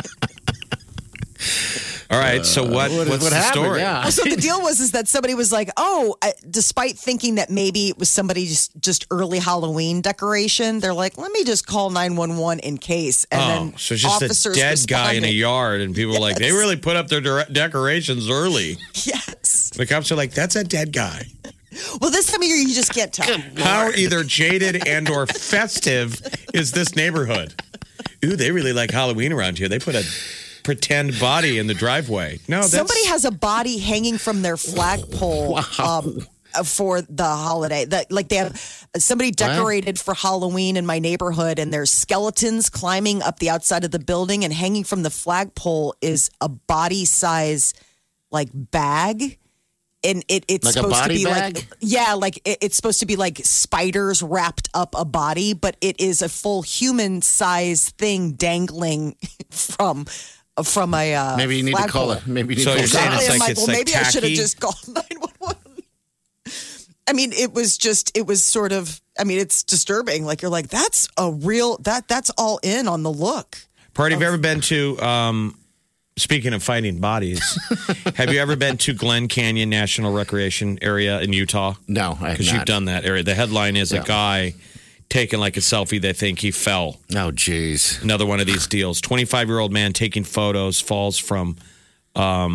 Speaker 5: All right, so what?
Speaker 4: what-
Speaker 5: what's
Speaker 4: what
Speaker 5: the
Speaker 4: happened?
Speaker 5: story?
Speaker 4: Yeah.
Speaker 6: So the deal was is that somebody was like, "Oh," I, despite thinking that maybe it was somebody just just early Halloween decoration, they're like, "Let me just call nine one one in case." And
Speaker 5: Oh,
Speaker 6: then
Speaker 5: so it's just a
Speaker 6: officers
Speaker 5: dead guy in a
Speaker 6: responded.
Speaker 5: yard, and people are like, they
Speaker 6: Yes.
Speaker 5: really put up their de- decorations early.
Speaker 6: Yes.
Speaker 5: The cops are like, that's a dead guy.
Speaker 6: Well, this time of year you just can't tell.
Speaker 5: How either jaded and or festive is this neighborhood? Ooh, they really like Halloween around here. They put a pretend body in the driveway. No, that's
Speaker 6: Somebody has a body hanging from their flagpole um, for the holiday. That like they have somebody decorated for Halloween in my neighborhood, and there's skeletons climbing up the outside of the building, and hanging from the flagpole is a body size like bag. And it, it's
Speaker 4: Like a
Speaker 6: supposed
Speaker 4: body
Speaker 6: to be
Speaker 4: bag?
Speaker 6: like, yeah, like it, it's supposed to be like spiders wrapped up a body, but it is a full human size thing dangling from from a uh,
Speaker 4: Maybe you need to call
Speaker 6: flagpole.
Speaker 4: it. Maybe you need
Speaker 5: So
Speaker 4: to
Speaker 5: you're
Speaker 4: call
Speaker 5: saying
Speaker 4: it.
Speaker 5: it's
Speaker 6: I'm
Speaker 5: like-
Speaker 6: like,
Speaker 5: it's
Speaker 6: well,
Speaker 5: like
Speaker 6: maybe I should have
Speaker 5: tacky?
Speaker 6: just called nine one one. I mean, it was just, it was sort of, I mean, it's disturbing. Like, you're like, that's a real, that that's all in on the look.
Speaker 5: Party, have you ever been to, um, speaking of finding bodies, have you ever been to Glen Canyon National Recreation Area in Utah?
Speaker 4: No, I have
Speaker 5: Because you've
Speaker 4: not.
Speaker 5: done that area. The headline is
Speaker 4: Yeah.
Speaker 5: a guy taking like a selfie. They think he fell.
Speaker 4: Oh, jeez.
Speaker 5: Another one of these deals. twenty-five-year-old man taking photos, falls from um,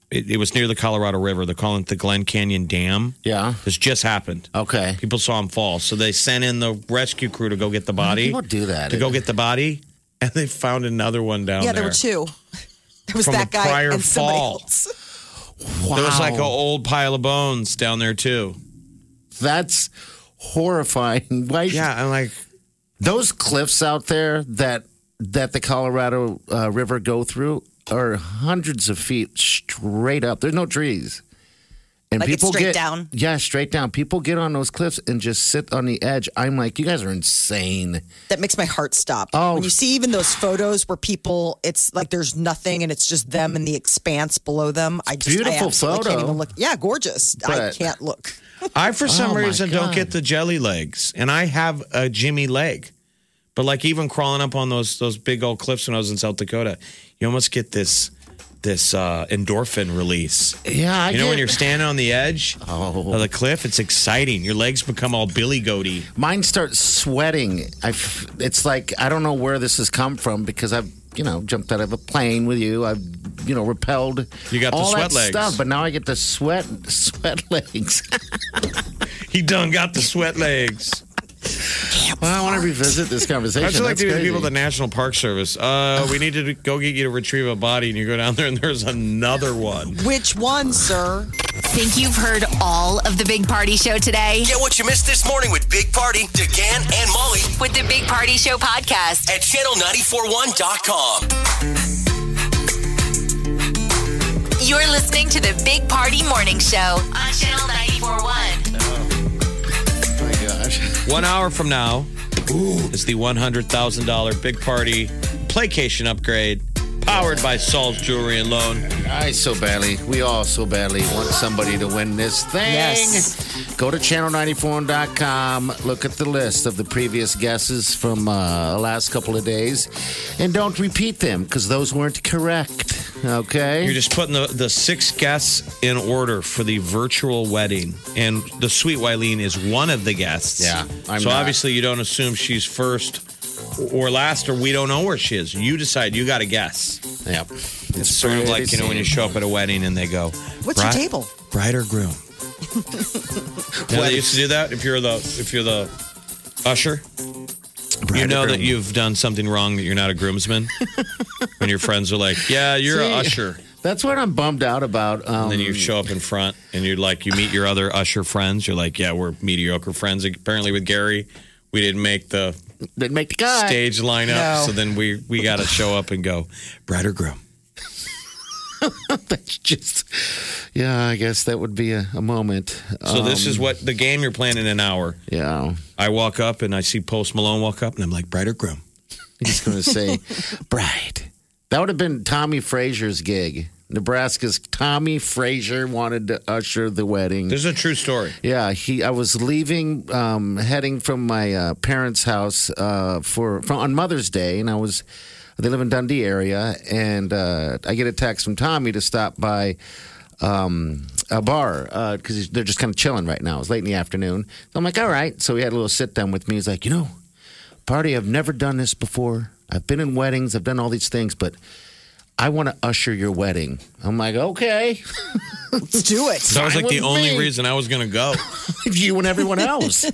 Speaker 5: it, it was near the Colorado River. They're calling it the Glen Canyon Dam.
Speaker 4: Yeah.
Speaker 5: This just happened.
Speaker 4: Okay.
Speaker 5: People saw him fall. So they sent in the rescue crew to go get the body.
Speaker 4: People do that.
Speaker 5: To go get the body. And they found another one down
Speaker 6: Yeah,
Speaker 5: there.
Speaker 6: there were two. There was
Speaker 5: From
Speaker 6: that
Speaker 5: a
Speaker 6: guy
Speaker 5: prior
Speaker 6: and somebody
Speaker 5: fall.
Speaker 6: else.
Speaker 4: Wow.
Speaker 5: There was like an old pile of bones down there, too.
Speaker 4: That's horrifying. Why?
Speaker 5: Yeah, I'm like...
Speaker 4: Those cliffs out there that that the Colorado uh, River go through are hundreds of feet straight up. There's no trees. And
Speaker 6: Like it's
Speaker 4: people
Speaker 6: straight
Speaker 4: get
Speaker 6: down?
Speaker 4: Yeah, straight down. People get on those cliffs and just sit on the edge. I'm like, you guys are insane.
Speaker 6: That makes my heart stop.
Speaker 4: Oh.
Speaker 6: When you see even those photos where people, it's like there's nothing and it's just them and the expanse below them. I just
Speaker 4: Beautiful
Speaker 6: I absolutely
Speaker 4: photo.
Speaker 6: Can't even look. Yeah, gorgeous. I
Speaker 4: But-
Speaker 6: can't look.
Speaker 5: I, for some
Speaker 4: Oh, my
Speaker 5: reason, don't
Speaker 4: God.
Speaker 5: get the jelly legs. And I have a Jimmy leg. But like even crawling up on those those big old cliffs when I was in South Dakota, you almost get this this uh, endorphin release.
Speaker 4: Yeah, I
Speaker 5: You know
Speaker 4: get,
Speaker 5: when you're standing on the edge
Speaker 4: Oh.
Speaker 5: of the cliff, it's exciting. Your legs become all billy goaty.
Speaker 4: mine start sweating. I, f- it's like I don't know where this has come from because I've you know jumped out of a plane with you. I've you know repelled.
Speaker 5: You got the
Speaker 4: all
Speaker 5: sweat
Speaker 4: that
Speaker 5: legs.
Speaker 4: stuff, but now I get the sweat sweat legs.
Speaker 5: He done got the sweat legs.
Speaker 4: Well, I want to revisit this conversation.
Speaker 5: I just like
Speaker 4: That's
Speaker 5: to the
Speaker 4: crazy.
Speaker 5: people at the National Park Service. Uh, we need to go get you to retrieve a body, and you go down there, and there's another one.
Speaker 6: Which one, sir?
Speaker 3: Think you've heard all of the Big Party Show today?
Speaker 7: Get what you missed this morning with Big Party, DeGan, and Molly
Speaker 3: With the Big Party Show podcast.
Speaker 7: at channel nine four one dot com.
Speaker 3: You're listening to the Big Party Morning Show on Channel ninety-four point one.
Speaker 4: Oh my gosh.
Speaker 5: One hour from now is the one hundred thousand dollars Big Party Playcation upgrade powered by Saul's Jewelry and Loan.
Speaker 4: I so badly, we all so badly want somebody to win this thing.
Speaker 6: Yes.
Speaker 4: Go to channel nine four one dot com, look at the list of the previous guesses from uh, the last couple of days, and don't repeat them because those weren't correct. Okay?
Speaker 5: You're just putting the, the six guests in order for the virtual wedding. And the sweet Wileen is one of the guests.
Speaker 4: Yeah, I'm
Speaker 5: So
Speaker 4: not.
Speaker 5: obviously you don't assume she's first or last, or we don't know where she is. You decide. You got to guess.
Speaker 4: Yep.
Speaker 5: It's sort of like, you know, when you show up at a wedding and they go,
Speaker 6: What's your table?
Speaker 5: Bride or groom? You know, they used to do that if you're the if you're the usher.
Speaker 4: Bride
Speaker 5: You
Speaker 4: or
Speaker 5: know that
Speaker 4: groom.
Speaker 5: you've done something wrong, that you're not a groomsman. When your friends are like, yeah, you're an
Speaker 4: See,
Speaker 5: usher.
Speaker 4: That's what I'm bummed out about. Um,
Speaker 5: And then you show up in front and you're like, you meet your other usher friends. You're like, yeah, we're mediocre friends. Apparently with Gary, we didn't make the
Speaker 4: didn't make the cut.
Speaker 5: stage lineup.
Speaker 6: No.
Speaker 5: So then we, we got to show up and go, bride or groom?
Speaker 4: That's just, yeah, I guess that would be a, a moment.
Speaker 5: So this
Speaker 4: Um,
Speaker 5: is what the game you're playing in an hour.
Speaker 4: Yeah.
Speaker 5: I walk up and I see Post Malone walk up and I'm like, bride or groom?
Speaker 4: He's going to say, bride. That would have been Tommy Frazier's gig. Nebraska's Tommy Frazier wanted to usher the wedding.
Speaker 5: This is a true story.
Speaker 4: Yeah, he. I was leaving, um, heading from my uh, parents' house uh, for, for on Mother's Day, and I was. They live in Dundee area, and uh, I get a text from Tommy to stop by um, a bar because they're just kind of chilling right now. It's late in the afternoon. So I'm like, all right. So he had a little sit down with me. He's like, you know, Party, I've never done this before. I've been in weddings. I've done all these things, but I want to usher your wedding. I'm like, okay.
Speaker 6: Let's do it.
Speaker 5: That was like the
Speaker 4: with
Speaker 5: only
Speaker 4: me.
Speaker 5: reason I was going to go.
Speaker 4: You and everyone else.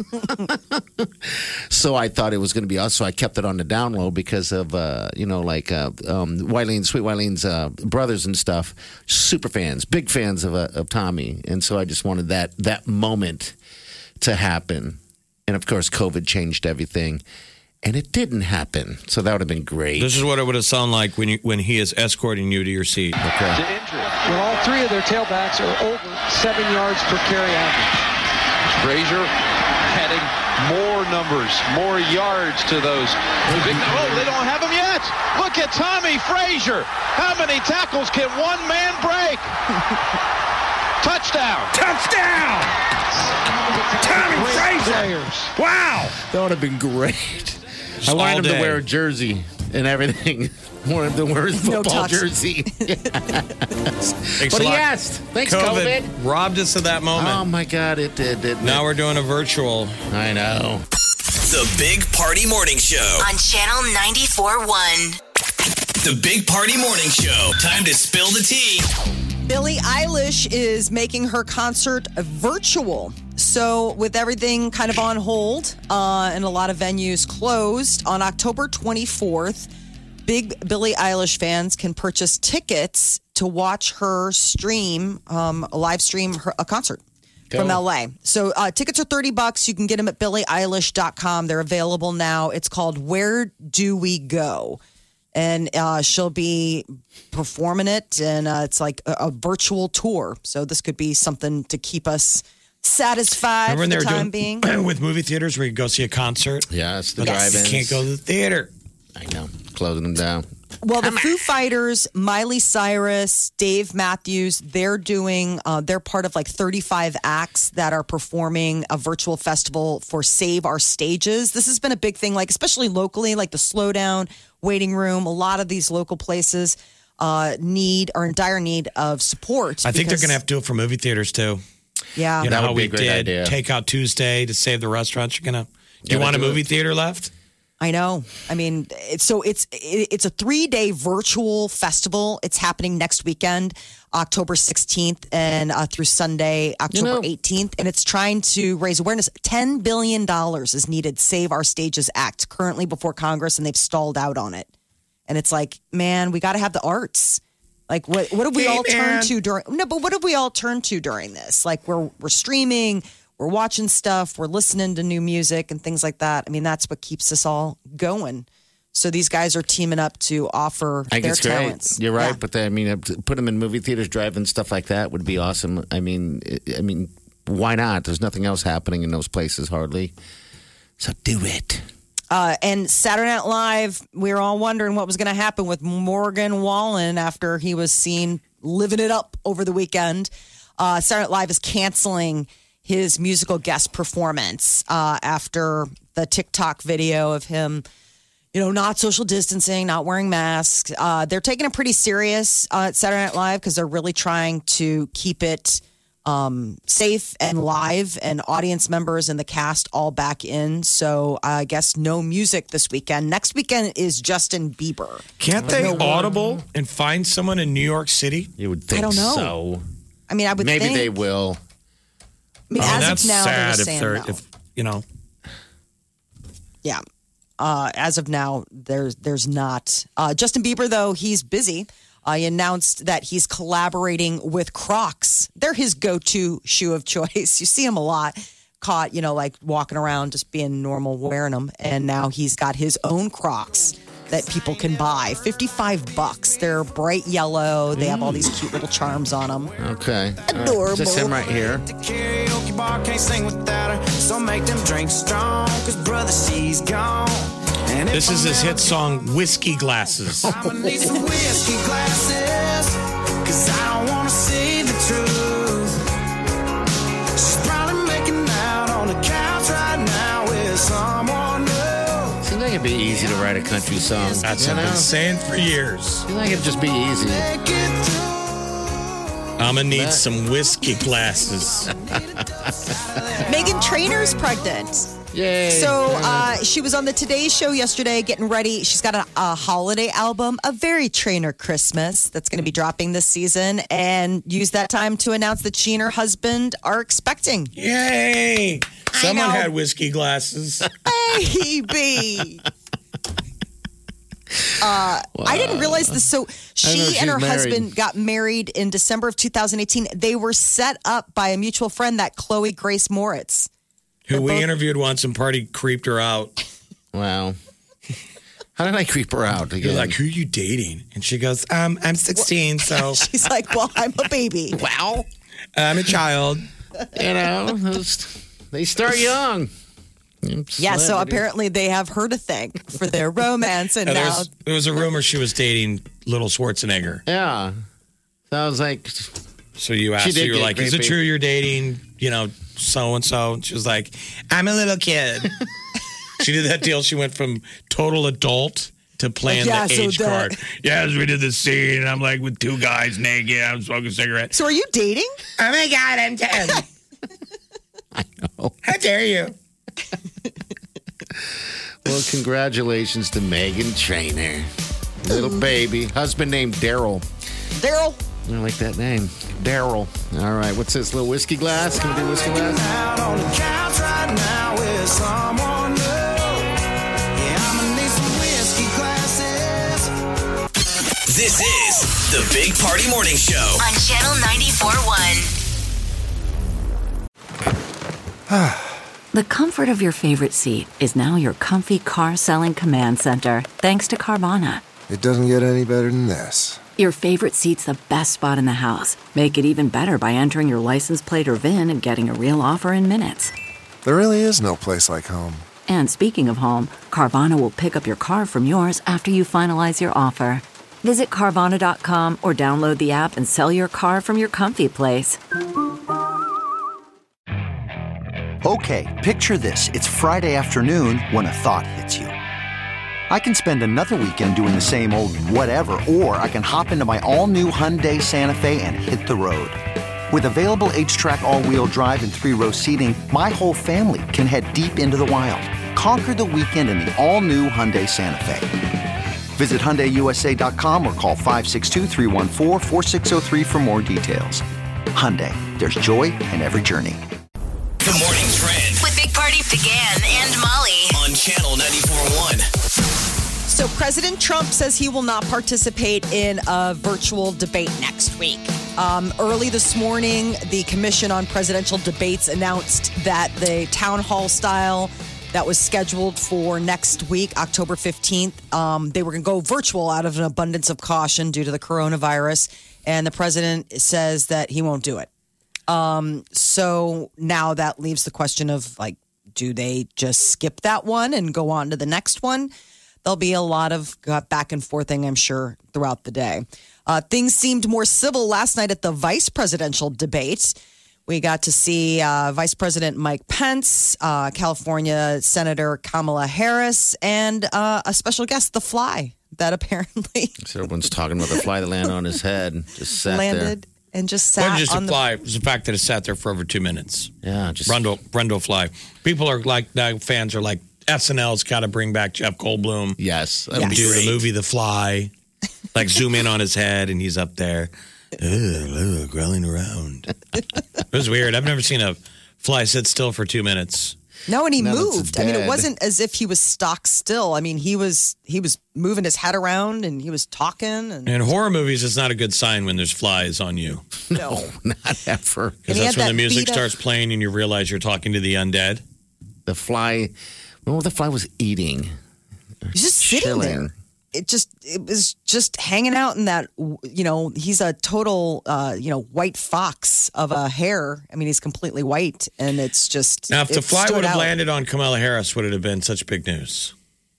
Speaker 4: So I thought it was going to be us. So I kept it on the down low because of, uh, you know, like uh, um, Wileen, Sweet Wileen's uh, brothers and stuff. Super fans, big fans of, uh, of Tommy. And so I just wanted that that moment to happen. And of course, COVID changed everything. And it didn't happen. So that would have been great.
Speaker 5: This is what it would have sounded like when you, when he is escorting you to your seat.
Speaker 4: Okay.
Speaker 10: to injury. Well, all three of their tailbacks are over seven yards per carry average.
Speaker 11: Frazier adding more numbers, more yards to those. Big, oh, they don't have him yet. Look at Tommy Frazier. How many tackles can one man break? Touchdown. Touchdown. Tommy Frazier.
Speaker 5: Wow.
Speaker 4: That would have been great. I
Speaker 5: all
Speaker 4: wanted him
Speaker 5: day.
Speaker 4: to wear a jersey and everything. Wanted him to wear his
Speaker 6: No
Speaker 4: football
Speaker 6: tux.
Speaker 4: jersey.
Speaker 5: Thanks
Speaker 4: But
Speaker 5: a
Speaker 4: he
Speaker 5: lot.
Speaker 4: asked. Thanks,
Speaker 5: COVID,
Speaker 4: COVID.
Speaker 5: robbed us of that moment.
Speaker 4: Oh, my God, it did. Didn't
Speaker 5: Now
Speaker 4: it?
Speaker 5: we're doing a virtual.
Speaker 4: I know.
Speaker 7: The Big Party Morning Show.
Speaker 3: On Channel ninety-four point one.
Speaker 7: The Big Party Morning Show. Time to spill the tea.
Speaker 6: Billie Eilish is making her concert virtual. So with everything kind of on hold uh, and a lot of venues closed, on October twenty-fourth, big Billie Eilish fans can purchase tickets to watch her stream, um, a live stream her, a concert Go. from L A. So uh, tickets are thirty bucks. You can get them at billie eilish dot com. They're available now. It's called Where Do We Go? And uh, she'll be performing it, and uh, it's like a, a virtual tour. So this could be something to keep us satisfied
Speaker 5: Remember
Speaker 6: for the
Speaker 5: when
Speaker 6: time
Speaker 5: they were doing,
Speaker 6: being.
Speaker 5: with movie theaters where you go see a concert?
Speaker 4: Yeah, it's the
Speaker 6: Yes.
Speaker 4: drive-ins.
Speaker 5: You can't go to the theater.
Speaker 4: I know. Closing them down.
Speaker 6: Well, the Foo Fighters, Miley Cyrus, Dave Matthews, they're doing, uh, they're part of like thirty-five acts that are performing a virtual festival for Save Our Stages. This has been a big thing, like especially locally, like the Slowdown, Waiting Room. A lot of these local places uh, need, are in dire need of support.
Speaker 5: I think they're
Speaker 6: because-
Speaker 5: going to have to do it for movie theaters too.
Speaker 6: Yeah.
Speaker 5: You know
Speaker 4: That would
Speaker 5: how
Speaker 4: be
Speaker 5: we
Speaker 4: a great
Speaker 5: did
Speaker 4: idea.
Speaker 5: Takeout Tuesday to save the restaurants? You're going to, do you
Speaker 4: Gotta
Speaker 5: want a
Speaker 4: do
Speaker 5: movie
Speaker 4: it.
Speaker 5: theater left?
Speaker 6: I know. I mean, it's, so it's it, it's a three day virtual festival. It's happening next weekend, October sixteenth, and uh, through Sunday, October
Speaker 4: know-
Speaker 6: eighteenth. And it's trying to raise awareness. Ten billion dollars is needed. Save Our Stages Act currently before Congress, and they've stalled out on it. And it's like, man, we got to have the arts. Like, what what have we
Speaker 5: Hey,
Speaker 6: all
Speaker 5: man.
Speaker 6: turned to during? No, but what have we all turned to during this? Like, we're we're streaming. We're watching stuff, we're listening to new music and things like that. I mean, that's what keeps us all going. So these guys are teaming up to offer
Speaker 4: I think
Speaker 6: their
Speaker 4: it's great.
Speaker 6: talents.
Speaker 4: You're right,
Speaker 6: Yeah.
Speaker 4: but I mean, put them in movie theaters, drive-in stuff like that would be awesome. I mean, I mean, why not? There's nothing else happening in those places hardly, so do it.
Speaker 6: Uh, and Saturday Night Live, we were all wondering what was going to happen with Morgan Wallen after he was seen living it up over the weekend. Uh, Saturday Night Live is canceling his musical guest performance uh, after the TikTok video of him, you know, not social distancing, not wearing masks. Uh, they're taking it pretty serious uh, at Saturday Night Live because they're really trying to keep it um, safe and live, and audience members and the cast all back in. So I guess no music this weekend. Next weekend is Justin Bieber.
Speaker 5: Can't they audible and find someone in New York City?
Speaker 4: You would think
Speaker 6: I don't know.
Speaker 4: so.
Speaker 6: I mean, I would
Speaker 4: Maybe
Speaker 6: think,
Speaker 4: they will.
Speaker 6: I mean,
Speaker 5: Oh,
Speaker 6: as
Speaker 5: that's
Speaker 6: of now, they're
Speaker 5: sad
Speaker 6: just
Speaker 5: if
Speaker 6: saying
Speaker 5: they're,
Speaker 6: no.
Speaker 5: if, you know.
Speaker 6: Yeah. Uh, as of now, there's there's not. Uh, Justin Bieber, though, he's busy. Uh, he announced that he's collaborating with Crocs. They're his go-to shoe of choice. You see him a lot, caught, you know, like walking around, just being normal, wearing them. And now he's got his own Crocs that people can buy. fifty-five bucks. They're bright yellow. They have all these cute little charms on them.
Speaker 4: Okay. All right.
Speaker 6: Adorable.
Speaker 4: Is this him right here?
Speaker 12: Karaoke bar can't sing without her, so make them drinks strong, cause brother, she's gone. And if
Speaker 5: This is
Speaker 12: I'm
Speaker 5: his
Speaker 12: ever
Speaker 5: hit song, Whiskey Glasses.
Speaker 12: I'ma need some whiskey glasses, cause I don't wanna see the truth. She's probably making out on the couch right now with someone new.
Speaker 4: Seems like it'd be easy to write a country song.
Speaker 5: That's
Speaker 4: you
Speaker 5: what I've
Speaker 4: know?
Speaker 5: been saying for years.
Speaker 4: Seems like it'd just be easy.
Speaker 12: Make it through.
Speaker 5: I'm going to need some whiskey glasses.
Speaker 6: Megan Trainor's pregnant.
Speaker 4: Yay.
Speaker 6: So uh, she was on the Today Show yesterday getting ready. She's got a, a holiday album, a very Trainer Christmas, that's going to be dropping this season, and used that time to announce that she and her husband are expecting.
Speaker 5: Yay! Someone
Speaker 6: know.
Speaker 5: had whiskey glasses.
Speaker 6: Baby. Uh, I didn't realize this. So
Speaker 4: I know
Speaker 6: she
Speaker 4: she's
Speaker 6: and her
Speaker 4: married.
Speaker 6: husband got married in December of two thousand eighteen. They were set up by a mutual friend, that Chloe Grace Moritz.
Speaker 5: Who we
Speaker 6: both-
Speaker 5: interviewed once and Party creeped her out.
Speaker 4: Wow. How did I creep her out
Speaker 5: You're
Speaker 4: again?
Speaker 5: like, who are you dating? And she goes, um, I'm sixteen, so
Speaker 6: She's like, well, I'm a baby.
Speaker 4: wow.
Speaker 5: I'm a child.
Speaker 4: You know, those- they start young.
Speaker 6: Yeah, so apparently they have her to thank for their romance. And
Speaker 5: And
Speaker 6: now,
Speaker 5: there's- there was a rumor she was dating little Schwarzenegger.
Speaker 4: Yeah. So I was like,
Speaker 5: So you
Speaker 4: She
Speaker 5: asked her,
Speaker 4: did
Speaker 5: you were
Speaker 4: get
Speaker 5: like, is it
Speaker 4: creepy.
Speaker 5: true you're dating, you know, so-and-so? And she was like, I'm a little kid. She did that deal. She went from total adult to playing
Speaker 6: Yeah,
Speaker 5: the
Speaker 6: so
Speaker 5: age
Speaker 6: that-
Speaker 5: card. Yes, we did the scene. And I'm like with two guys naked. I'm smoking a cigarette.
Speaker 6: so are you dating?
Speaker 5: Oh my God, I'm ten.
Speaker 4: I know.
Speaker 5: How dare you?
Speaker 4: Well, congratulations to Megan Trainor. Little baby. Husband named Daryl.
Speaker 6: Daryl?
Speaker 4: I like that name. Daryl. All right, what's this? Little whiskey glass? Can we do whiskey glass?
Speaker 12: Out on the couch right now with someone new. Yeah, I'm gonna need some whiskey glasses.
Speaker 7: This is the Big Party Morning Show
Speaker 3: on Channel ninety-four point one.
Speaker 1: The comfort of your favorite seat is now your comfy car selling command center, thanks to Carvana.
Speaker 2: It doesn't get any better than this.
Speaker 1: Your favorite seat's the best spot in the house. Make it even better by entering your license plate or V I N and getting a real offer in minutes.
Speaker 2: There really is no place like home.
Speaker 1: And speaking of home, Carvana will pick up your car from yours after you finalize your offer. Visit Carvana dot com or download the app and sell your car from your comfy place.
Speaker 13: Okay, picture this. It's Friday afternoon when a thought hits you. I can spend another weekend doing the same old whatever, or I can hop into my all-new Hyundai Santa Fe and hit the road. With available H-Track all-wheel drive and three-row seating, my whole family can head deep into the wild. Conquer the weekend in the all-new Hyundai Santa Fe. Visit Hyundai U S A dot com or call five six two, three one four, four six zero three for more details. Hyundai, there's joy in every journey.
Speaker 7: The Morning Trend
Speaker 3: With Big Party began and Molly
Speaker 7: on Channel ninety-four point one.
Speaker 6: So President Trump says he will not participate in a virtual debate next week. Um, early this morning, the Commission on Presidential Debates announced that the town hall style that was scheduled for next week, October fifteenth, um, they were going to go virtual out of an abundance of caution due to the coronavirus. And the president says that he won't do it. Um, so now that leaves the question of, like, do they just skip that one and go on to the next one? There'll be a lot of back and forthing, I'm sure, throughout the day. Uh, things seemed more civil last night at the vice presidential debate. We got to see uh, Vice President Mike Pence, uh, California Senator Kamala Harris, and uh, a special guest, The Fly, that apparently
Speaker 4: So everyone's talking about the fly that landed on his head and just sat
Speaker 6: landed
Speaker 4: there.
Speaker 6: and just
Speaker 5: It
Speaker 6: sat
Speaker 5: wasn't just
Speaker 6: on
Speaker 5: a
Speaker 6: the
Speaker 5: fly. It was the fact that it sat there for over two minutes.
Speaker 4: Yeah, just
Speaker 5: Brundle, Brundle fly. People are like, now fans are like, S N L's got to bring back Jeff Goldblum.
Speaker 4: Yes.
Speaker 5: And do the movie The Fly. Like zoom in on his head and he's up there. Ugh, ugh, growling around. It was weird. I've never seen a fly sit still for two minutes.
Speaker 6: No, and he
Speaker 4: Now that it's
Speaker 6: moved. I mean, it
Speaker 4: dead.
Speaker 6: wasn't as if he was stock still. I mean, he was he was moving his head around and he was talking. And
Speaker 5: In horror movies, it's not a good sign when there's flies on you.
Speaker 6: no,
Speaker 4: not ever.
Speaker 6: And
Speaker 5: Because
Speaker 6: he
Speaker 5: that's
Speaker 6: had
Speaker 5: when the
Speaker 6: that
Speaker 5: music
Speaker 6: beat up-
Speaker 5: starts playing and you realize you're talking to the undead.
Speaker 4: The fly, remember what the fly was eating?
Speaker 6: he's just sitting
Speaker 4: Chilling.
Speaker 6: there. It just it was just hanging out in that. You know, he's a total uh, you know white fox of a hair. I mean, he's completely white, and it's just
Speaker 5: Now, if the
Speaker 6: it
Speaker 5: fly
Speaker 6: stood
Speaker 5: would have
Speaker 6: out.
Speaker 5: landed on Kamala Harris, would it have been such big news?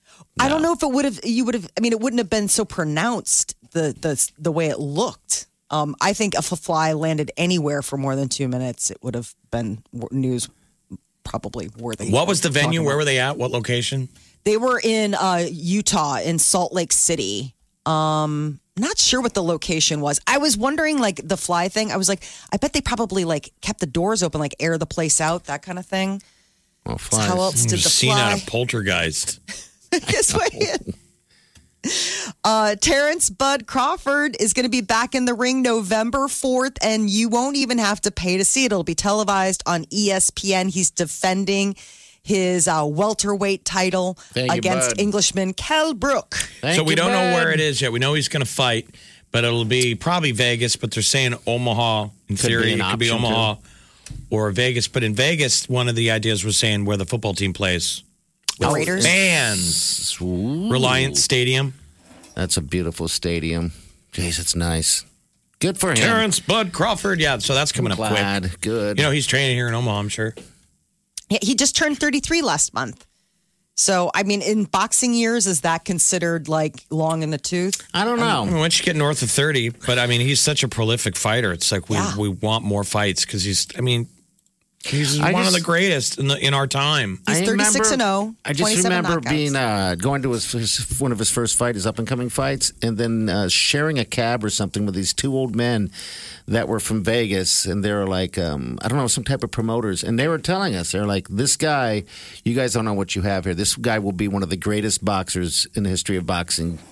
Speaker 6: I don't know if it would have. You would have. I mean, it wouldn't have been so pronounced the the the way it looked. Um, I think if a fly landed anywhere for more than two minutes, it would have been w- news probably worthy.
Speaker 5: What was the
Speaker 6: of talking
Speaker 5: venue?
Speaker 6: about.
Speaker 5: Where were they at? What location?
Speaker 6: They were in uh, Utah, in Salt Lake City. Um, not sure what the location was. I was wondering, like the fly thing. I was like, I bet they probably like kept the doors open, like air the place out, that kind of thing.
Speaker 4: Well,
Speaker 6: So how else did the
Speaker 5: Seen
Speaker 6: fly?
Speaker 5: out of Poltergeist.
Speaker 6: Guess what? Uh, Terrence Bud Crawford is going to be back in the ring November fourth, and you won't even have to pay to see it. It'll be televised on E S P N. He's defending his uh, welterweight title
Speaker 4: Thank you,
Speaker 6: against
Speaker 4: Bud.
Speaker 6: Englishman Kell Brook.
Speaker 4: Thank
Speaker 5: so we
Speaker 4: you,
Speaker 5: don't know
Speaker 4: bud.
Speaker 5: where it is yet. We know he's going to fight, but it'll be probably Vegas. But they're saying Omaha. In
Speaker 4: Could
Speaker 5: theory,
Speaker 4: be an
Speaker 5: it could be
Speaker 4: option,
Speaker 5: Omaha or Vegas. But in Vegas, one of the ideas was saying where the football team plays.
Speaker 6: The Raiders.
Speaker 5: Fans.
Speaker 4: Ooh.
Speaker 5: Reliant Stadium.
Speaker 4: That's a beautiful stadium. Jeez, it's nice. Good for him.
Speaker 5: Terrence Bud Crawford. Yeah, so that's coming up
Speaker 4: Glad.
Speaker 5: quick.
Speaker 4: Good.
Speaker 5: You know, he's training here in Omaha, I'm sure.
Speaker 6: Yeah, he just turned thirty-three last month. So, I mean, in boxing years, is that considered like long in the tooth?
Speaker 4: I don't
Speaker 5: I
Speaker 4: know.
Speaker 5: mean, once you get north of thirty, but I mean, he's such a prolific fighter. It's like we,
Speaker 6: Yeah.
Speaker 5: we want more fights because he's, I mean, he's
Speaker 4: I
Speaker 5: one
Speaker 4: just-
Speaker 5: of the greatest in, the, in our time.
Speaker 6: He's
Speaker 4: I
Speaker 6: thirty-six and oh,
Speaker 4: I just
Speaker 6: twenty-seven
Speaker 4: remember
Speaker 6: knockouts.
Speaker 4: being uh, going to his, his one of his first fight, his up and coming fights, and then uh, sharing a cab or something with these two old men that were from Vegas, and they were like, um, I don't know, some type of promoters, and they were telling us, they're like, this guy, you guys don't know what you have here. This guy will be one of the greatest boxers in the history of boxing.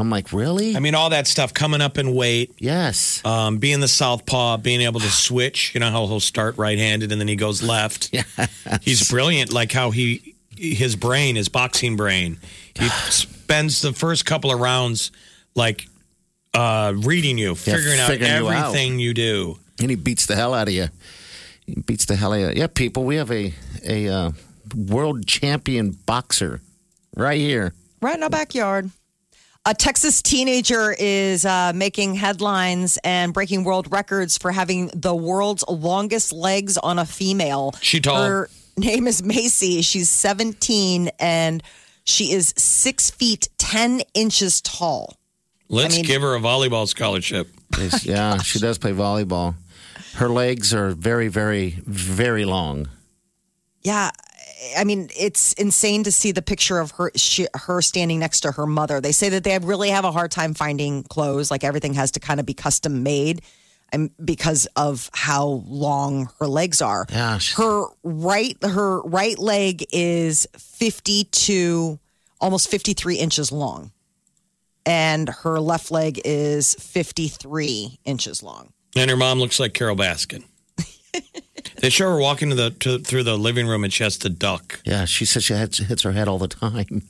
Speaker 4: I'm like, really?
Speaker 5: I mean, all that stuff coming up in weight.
Speaker 4: Yes.
Speaker 5: Um, being the southpaw, being able to switch. You know how he'll start right-handed and then he goes left.
Speaker 4: Yeah.
Speaker 5: He's brilliant. Like how he, his brain, his boxing brain, he spends the first couple of rounds like uh, reading you, figuring
Speaker 4: yeah,
Speaker 5: out
Speaker 4: figuring
Speaker 5: everything
Speaker 4: you,
Speaker 5: you do.
Speaker 4: And he beats the hell out of you. He beats the hell out of you. Yeah, people, we have a, a uh, world champion boxer right here.
Speaker 6: Right in our backyard. A Texas teenager is uh, making headlines and breaking world records for having the world's longest legs on a female.
Speaker 5: She tall.
Speaker 6: Her name is Macy. She's seventeen and she is six feet ten inches tall.
Speaker 5: Let's
Speaker 6: I mean,
Speaker 5: give her a volleyball scholarship.
Speaker 4: Yeah, she does play volleyball. Her legs are very, very, very long.
Speaker 6: Yeah. I mean, it's insane to see the picture of her she, her standing next to her mother. They say that they really have a hard time finding clothes. Like everything has to kind of be custom made, and because of how long her legs are.
Speaker 4: Yeah, she's-
Speaker 6: her right her right leg is fifty-two, almost fifty-three inches long, and her left leg is fifty-three inches long.
Speaker 5: And her mom looks like Carol Baskin. They show her walking to the to, through the living room and she has to duck.
Speaker 4: Yeah, she says she hits, hits her head all the time.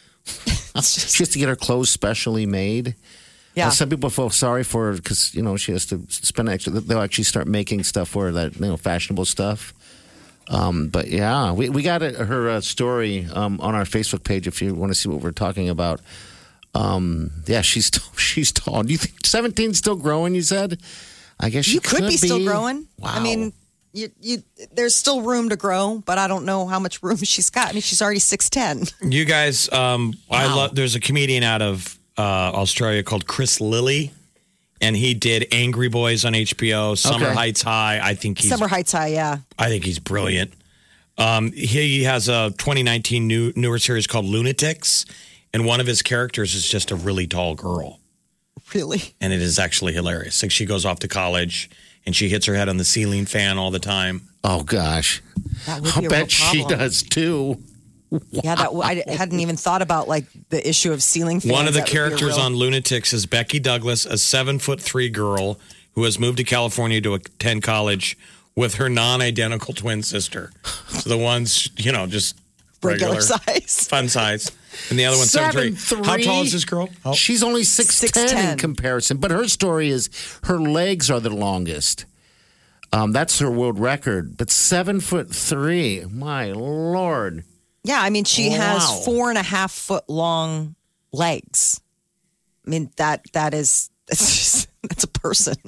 Speaker 4: She has to get her clothes specially made.
Speaker 6: Yeah.
Speaker 4: Uh, some people feel sorry for her because, you know, she has to spend extra. They'll actually start making stuff for her, that, you know, fashionable stuff. Um, but yeah, we, we got a, her uh, story um, on our Facebook page if you want to see what we're talking about. Um, yeah, she's she's tall. Do you think seventeen's still growing, you said? I guess she
Speaker 6: You could,
Speaker 4: could
Speaker 6: be still growing.
Speaker 4: Wow.
Speaker 6: I mean, you, you, there's still room to grow, but I don't know how much room she's got. I mean, she's already six ten.
Speaker 5: You guys, um, I love. There's a comedian out of uh, Australia called Chris Lilly, and he did Angry Boys on H B O. Summer
Speaker 4: Okay.
Speaker 5: Heights High. I think he's.
Speaker 6: Summer Heights High, yeah.
Speaker 5: I think he's brilliant. Um, he has a twenty nineteen new newer series called Lunatics, and one of his characters is just a really tall girl.
Speaker 6: Really?
Speaker 5: And it is actually hilarious. Like she goes off to college and she hits her head on the ceiling fan all the time.
Speaker 4: Oh gosh,
Speaker 6: That would
Speaker 4: I
Speaker 6: be a
Speaker 4: bet
Speaker 6: real
Speaker 4: she
Speaker 6: problem.
Speaker 4: does too.
Speaker 6: Yeah, that I hadn't even thought about like the issue of ceiling fans.
Speaker 5: One of the
Speaker 6: That would be a
Speaker 5: characters
Speaker 6: real-
Speaker 5: on Lunatics is Becky Douglas, a seven foot three girl who has moved to California to attend college with her non-identical twin sister. So the one's, you know, just
Speaker 6: Regular
Speaker 5: regular,
Speaker 6: size.
Speaker 5: fun size, and the other one's seven three. How tall is this girl? How-
Speaker 4: She's only six ten
Speaker 6: six ten.
Speaker 4: in comparison, but her story is her legs are the longest. Um, that's her world record, but seven foot three. My lord!
Speaker 6: Yeah, I mean, she
Speaker 4: Wow.
Speaker 6: has four and a half foot long legs. I mean, that that is that's just, that's a person.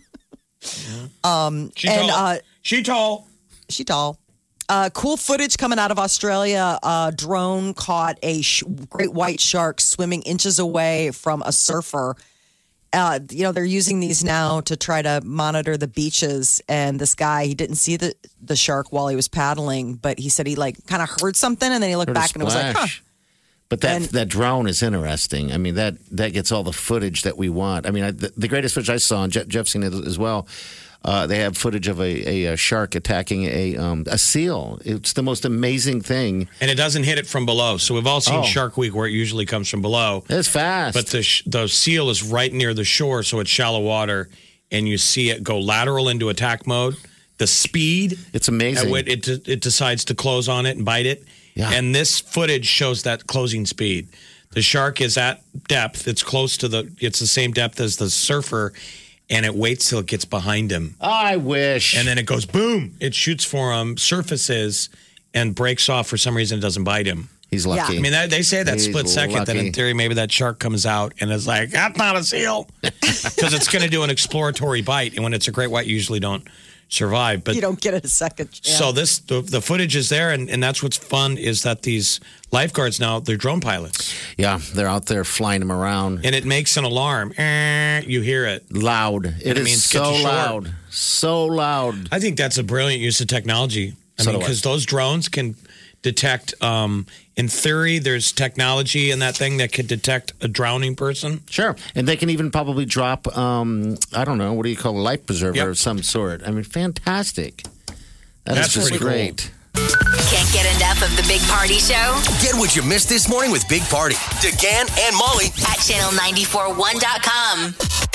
Speaker 6: um,
Speaker 5: She
Speaker 6: and
Speaker 5: tall.
Speaker 6: uh,
Speaker 5: She tall.
Speaker 6: she tall. Uh, cool footage coming out of Australia. A drone caught a sh- great white shark swimming inches away from a surfer. Uh, you know, they're using these now to try to monitor the beaches. And this guy, he didn't see the, the shark while he was paddling, but he said he like kind of heard something and then he looked
Speaker 4: Heard a
Speaker 6: back and it was like, huh.
Speaker 4: splash. But that
Speaker 6: And-
Speaker 4: that drone is interesting. I mean, that that gets all the footage that we want. I mean, I, the, the greatest footage I saw, and Jeff, Jeff's seen it as well. Uh, they have footage of a, a, a shark attacking a um, a seal. It's the most amazing thing.
Speaker 5: And it doesn't hit it from below. So we've all seen
Speaker 4: Oh.
Speaker 5: Shark Week where it usually comes from below.
Speaker 4: It's fast.
Speaker 5: But the sh- the seal is right near the shore, so it's shallow water, and you see it go lateral into attack mode. The speed,
Speaker 4: it's amazing.
Speaker 5: at which it it, it decides to close on it and bite it.
Speaker 4: Yeah.
Speaker 5: And this footage shows that closing speed. The shark is at depth. It's close to the. It's the same depth as the surfer, and it waits till it gets behind him.
Speaker 4: I wish.
Speaker 5: And then it goes boom. It shoots for him, surfaces, and breaks off. For some reason, it doesn't bite him.
Speaker 4: He's lucky.
Speaker 5: I mean, that, they say that
Speaker 4: He's
Speaker 5: split second that in
Speaker 4: lucky.
Speaker 5: theory, maybe that shark comes out and is like, that's not a seal. Because it's going to do an exploratory bite. And when it's a great white, you usually don't survive. But
Speaker 6: You don't get it a second chance.
Speaker 5: so this the, the footage is there. And, and that's what's fun is that these lifeguards now, they're drone pilots.
Speaker 4: Yeah, they're out there flying them around.
Speaker 5: And it makes an alarm. Eh, you hear it.
Speaker 4: Loud. It
Speaker 5: I
Speaker 4: is
Speaker 5: mean, get
Speaker 4: so
Speaker 5: to shore.
Speaker 4: loud. So loud.
Speaker 5: I think that's a brilliant use of technology. I
Speaker 4: So
Speaker 5: mean,
Speaker 4: do I.
Speaker 5: because those drones can detect, um, in theory, there's technology in that thing that could detect a drowning person.
Speaker 4: Sure. And they can even probably drop, um, I don't know, what do you call a life preserver
Speaker 5: Yep.
Speaker 4: of some sort. I mean, fantastic. That
Speaker 5: That's
Speaker 4: is just
Speaker 5: pretty cool.
Speaker 4: great.
Speaker 3: Can't get enough of the Big Party Show
Speaker 7: Get what you missed this morning with Big Party, DeGan and Molly
Speaker 3: at channel nine four one dot com.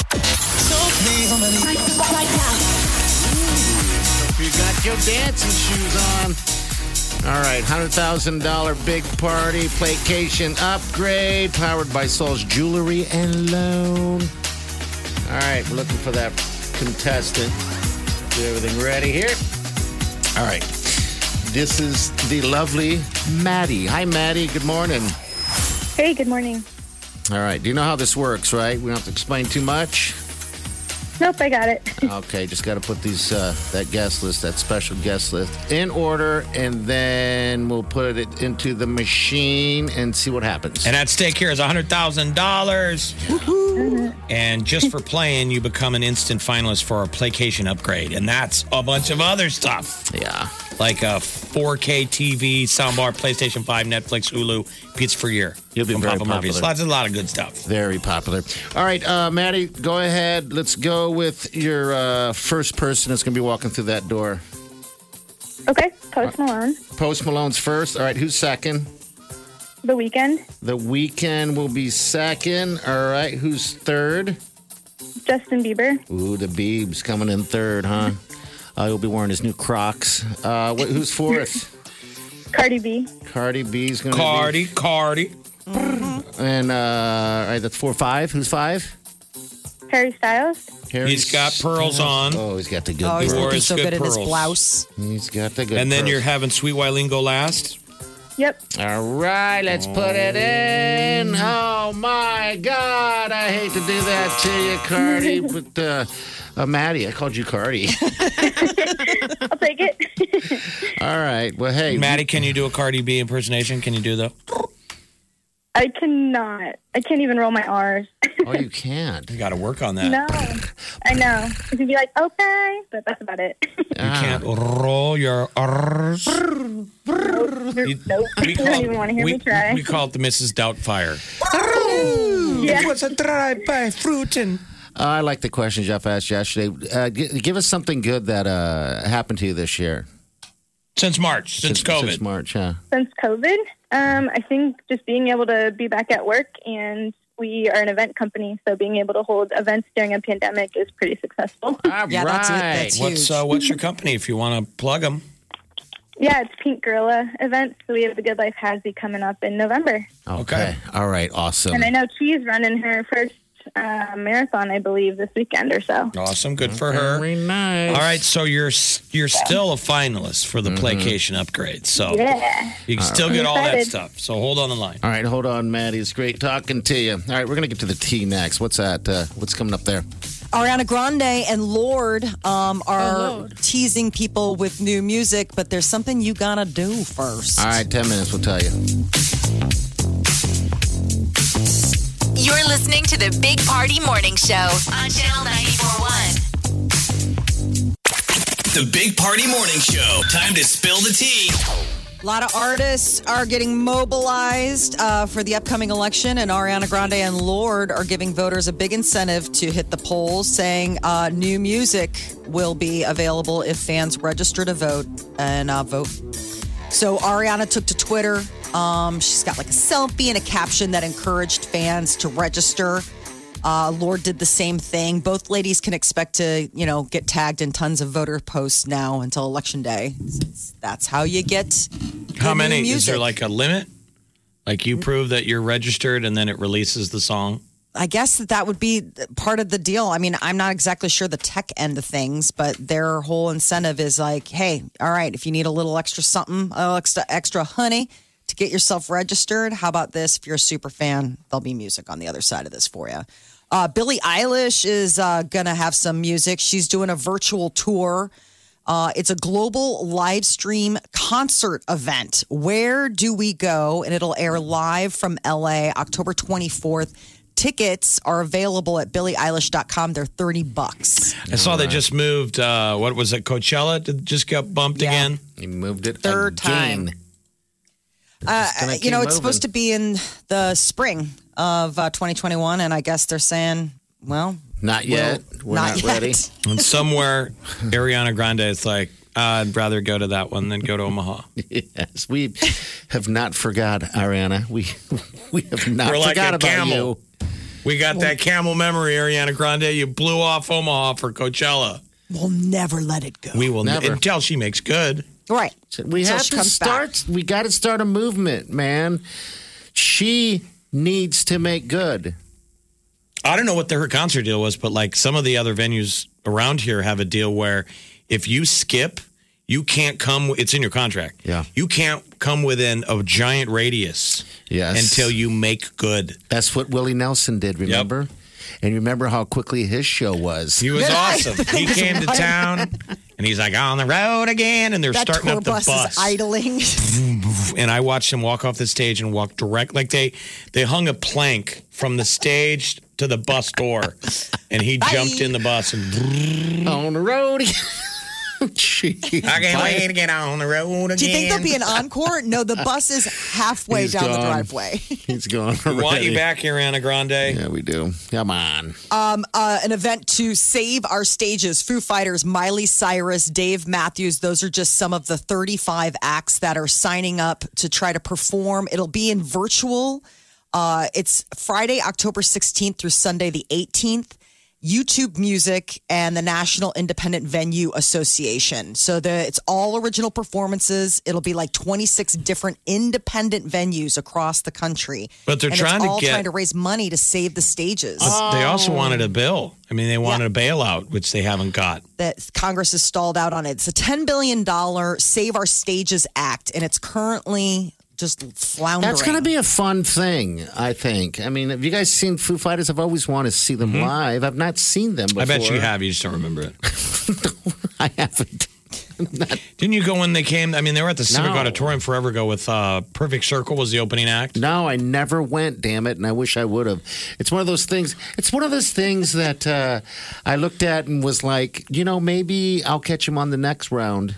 Speaker 4: You got your dancing shoes on. All right, one hundred thousand dollars Big Party Playcation Upgrade powered by Sol's Jewelry and Loan. All right, we're looking for that contestant. Get everything ready here. All right. This is the lovely Maddie. Hi, Maddie. Good morning.
Speaker 14: Hey, good morning.
Speaker 4: All right. Do you know how this works, right? We don't have to explain too much.
Speaker 14: Nope, I got it.
Speaker 4: Okay, just got to put these uh, that guest list, that special guest list, in order, and then we'll put it into the machine and see what happens.
Speaker 5: And at stake here is one hundred thousand dollars.
Speaker 14: Mm-hmm.
Speaker 5: And just for playing, you become an instant finalist for a Playcation upgrade. And that's a bunch of other stuff.
Speaker 4: Yeah.
Speaker 5: Like a four K T V, soundbar, PlayStation five, Netflix, Hulu, pizza for a year.
Speaker 4: You'll be
Speaker 5: from
Speaker 4: very
Speaker 5: Papa Murphy's.
Speaker 4: popular.
Speaker 5: Lots, a lot of good stuff.
Speaker 4: Very popular. All right, uh, Maddie, go ahead. Let's go with your uh, first person that's going to be walking through that door.
Speaker 14: Okay, Post Malone.
Speaker 4: Post Malone's first. All right, who's second?
Speaker 14: The Weeknd.
Speaker 4: The Weeknd will be second. All right, who's third?
Speaker 14: Justin Bieber.
Speaker 4: Ooh, the Biebs coming in third, huh? Uh, he'll be wearing his new Crocs. Uh, what, who's fourth?
Speaker 14: Cardi B.
Speaker 4: Cardi B's going to
Speaker 5: Cardi,
Speaker 4: be...
Speaker 5: Cardi.
Speaker 4: And, uh, all right, that's four, five. Who's five?
Speaker 14: Harry Styles.
Speaker 4: Harry
Speaker 5: He's got pearls on.
Speaker 4: Oh, he's got the good
Speaker 6: Oh, he's
Speaker 4: pearls.
Speaker 6: looking so
Speaker 5: good
Speaker 6: good in his
Speaker 5: pearls.
Speaker 6: blouse.
Speaker 4: He's got the good
Speaker 5: And then
Speaker 4: pearls.
Speaker 5: you're having Sweet Wileen go last.
Speaker 14: Yep.
Speaker 4: All right, let's put it in. Oh, my God. I hate to do that to you, Cardi. But, uh, uh, Maddie, I called you Cardi.
Speaker 14: I'll take it.
Speaker 4: All right. Well, hey.
Speaker 5: Maddie, can you do a Cardi B impersonation? Can you do that?
Speaker 14: I cannot. I can't even roll my R's.
Speaker 4: Oh, you can't.
Speaker 5: You got to work on that.
Speaker 14: No. I know. You can be like, okay, but that's about it.
Speaker 5: You can't roll your R's.
Speaker 14: nope. nope.
Speaker 5: We
Speaker 14: You
Speaker 5: call,
Speaker 14: don't even want to hear
Speaker 5: we,
Speaker 14: me try.
Speaker 5: we call it the Missus Doubtfire.
Speaker 14: Yeah.
Speaker 5: It was a drive-by fruiting.
Speaker 4: Uh, I like the question Jeff asked yesterday. Uh, g- give us something good that uh, happened to you this year.
Speaker 5: Since March, since,
Speaker 4: since
Speaker 5: COVID.
Speaker 4: Since March, yeah.
Speaker 14: Since COVID, um, I think just being able to be back at work, and we are an event company, so being able to hold events during a pandemic is pretty successful.
Speaker 4: All
Speaker 6: Yeah,
Speaker 4: right.
Speaker 6: that's it. That's
Speaker 5: What's
Speaker 6: huge.
Speaker 5: uh, what's your company if you want to plug them?
Speaker 14: Yeah, it's Pink Gorilla events, so we have the Good Life Hasby coming up in November.
Speaker 4: Okay.
Speaker 5: Okay.
Speaker 4: All right. Awesome.
Speaker 14: And I know Cheese running her first uh, marathon, I believe, this weekend or so.
Speaker 5: Awesome, good for her.
Speaker 4: Very nice.
Speaker 5: All right, so you're you're still a finalist for the Playcation upgrade, so
Speaker 14: Yeah.
Speaker 5: you can still
Speaker 14: right.
Speaker 5: get all that
Speaker 14: Excited.
Speaker 5: stuff. So hold on the line.
Speaker 4: All right. Hold on, Maddie. It's great talking to you. All right. We're going to get to the T next. What's that? Uh, what's coming up there?
Speaker 6: Ariana Grande and Lorde um, are teasing people with new music, but there's something you gotta do first.
Speaker 4: All right. ten minutes. We'll tell you.
Speaker 3: You're listening to the Big Party Morning Show on channel nine four one.
Speaker 7: The Big Party Morning Show. Time to spill the tea.
Speaker 6: A lot of artists are getting mobilized uh, for the upcoming election, and Ariana Grande and Lorde are giving voters a big incentive to hit the polls, saying uh, new music will be available if fans register to vote and uh, vote. So Ariana took to Twitter. Um, she's got like a selfie and a caption that encouraged fans to register. Uh, Lorde did the same thing. Both ladies can expect to, you know, get tagged in tons of voter posts now until election day. That's how you get.
Speaker 5: How
Speaker 6: the new
Speaker 5: many? Is
Speaker 6: music.
Speaker 5: there like a limit? Like you prove that you're registered and then it releases the song?
Speaker 6: I guess that that would be part of the deal. I mean, I'm not exactly sure the tech end of things, but their whole incentive is like, hey, all right, if you need a little extra something, a little extra, extra honey to get yourself registered, how about this? If you're a super fan, there'll be music on the other side of this for you. Uh, Billie Eilish is uh, going to have some music. She's doing a virtual tour. Uh, it's a global live stream concert event. Where do we go? And it'll air live from L A October twenty-fourth. Tickets are available at billie eilish dot com. They're thirty bucks.
Speaker 5: I saw they just moved, uh, what was it, Coachella? Did it just get bumped
Speaker 6: Yeah.
Speaker 5: again?
Speaker 4: You moved it
Speaker 6: Third
Speaker 4: again.
Speaker 6: time. Uh,
Speaker 4: gonna
Speaker 6: you
Speaker 4: keep
Speaker 6: know, it's
Speaker 4: moving.
Speaker 6: supposed to be in the spring of uh, twenty twenty-one, and I guess they're saying, well,
Speaker 4: Not yet.
Speaker 6: well,
Speaker 4: We're not,
Speaker 6: yet.
Speaker 4: ready.
Speaker 5: And somewhere, Ariana Grande is like, I'd rather go to that one than go to Omaha.
Speaker 4: Yes, we have not forgot, Ariana. We we have not
Speaker 5: We're like
Speaker 4: forgot
Speaker 5: a
Speaker 4: about
Speaker 5: camel.
Speaker 4: you.
Speaker 5: We got that camel memory, Ariana Grande. You blew off Omaha for Coachella.
Speaker 6: We'll never let it go.
Speaker 5: We will
Speaker 4: Never.
Speaker 5: never until she makes good.
Speaker 6: Right.
Speaker 4: We
Speaker 6: Until
Speaker 4: have
Speaker 6: she
Speaker 4: to
Speaker 6: comes
Speaker 4: start. We got to start a movement, man. She needs to make good.
Speaker 5: I don't know what the, her concert deal was, but like some of the other venues around here have a deal where if you skip, you can't come. It's in your contract.
Speaker 4: Yeah.
Speaker 5: You can't come within a giant radius.
Speaker 4: Yes.
Speaker 5: Until you make good.
Speaker 4: That's what Willie Nelson did, remember? Yep. And you remember how quickly his show was.
Speaker 5: He was awesome. He came to town, and he's like, on the road again, and they're
Speaker 6: that
Speaker 5: starting
Speaker 6: tour
Speaker 5: up the
Speaker 6: bus.
Speaker 5: bus.
Speaker 6: Is idling.
Speaker 5: And I watched him walk off the stage and walk direct. Like they, they hung a plank from the stage to the bus door, and he
Speaker 6: Bye.
Speaker 5: jumped in the bus and
Speaker 4: on the road again.
Speaker 5: Jeez. I can't wait to get on the road again.
Speaker 6: Do you think there'll be an encore? No, the bus is halfway
Speaker 4: He's
Speaker 6: down
Speaker 4: gone.
Speaker 6: the driveway.
Speaker 4: He's gone.
Speaker 5: We want
Speaker 4: already.
Speaker 5: you back here, Ariana Grande.
Speaker 4: Yeah, we do. Come on.
Speaker 6: Um, uh, an event to save our stages. Foo Fighters, Miley Cyrus, Dave Matthews. Those are just some of the thirty-five acts that are signing up to try to perform. It'll be in virtual. Uh, it's Friday, October sixteenth through Sunday, the eighteenth. YouTube Music and the National Independent Venue Association. So the, it's all original performances. It'll be like twenty-six different independent venues across the country.
Speaker 5: But they're
Speaker 6: and
Speaker 5: trying
Speaker 6: it's
Speaker 5: to
Speaker 6: all
Speaker 5: get-
Speaker 6: trying to raise money to save the stages.
Speaker 5: But They also wanted a bill. I mean, they wanted a bailout, which they haven't got.
Speaker 6: That Congress has stalled out on it. It's a ten billion dollars Save Our Stages Act, and it's currently just floundering.
Speaker 4: That's going to be a fun thing, I think. I mean, have you guys seen Foo Fighters? I've always wanted to see them
Speaker 5: Mm-hmm.
Speaker 4: live. I've not seen them before.
Speaker 5: I bet you have. You just don't remember it.
Speaker 4: I haven't.
Speaker 5: Didn't you go when they came? I mean, they were at the Civic
Speaker 4: No.
Speaker 5: Auditorium forever ago with uh, Perfect Circle was the opening act.
Speaker 4: No, I never went, damn it, and I wish I would have. It's one of those things. It's one of those things that uh, I looked at and was like, you know, maybe I'll catch him on the next round.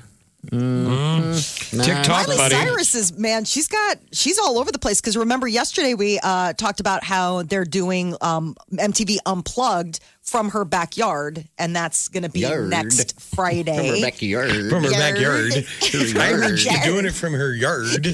Speaker 4: Mm-hmm. Nah.
Speaker 5: TikTok,
Speaker 6: Miley
Speaker 5: buddy.
Speaker 6: Cyrus is, man, she's got, she's all over the place. Because remember, yesterday we uh, talked about how they're doing um, M T V Unplugged from her backyard, and that's going to be
Speaker 4: Yard.
Speaker 6: next Friday.
Speaker 4: From her backyard.
Speaker 5: From her
Speaker 6: Yard.
Speaker 5: backyard. I heard she's
Speaker 6: Yard.
Speaker 5: doing it from her yard.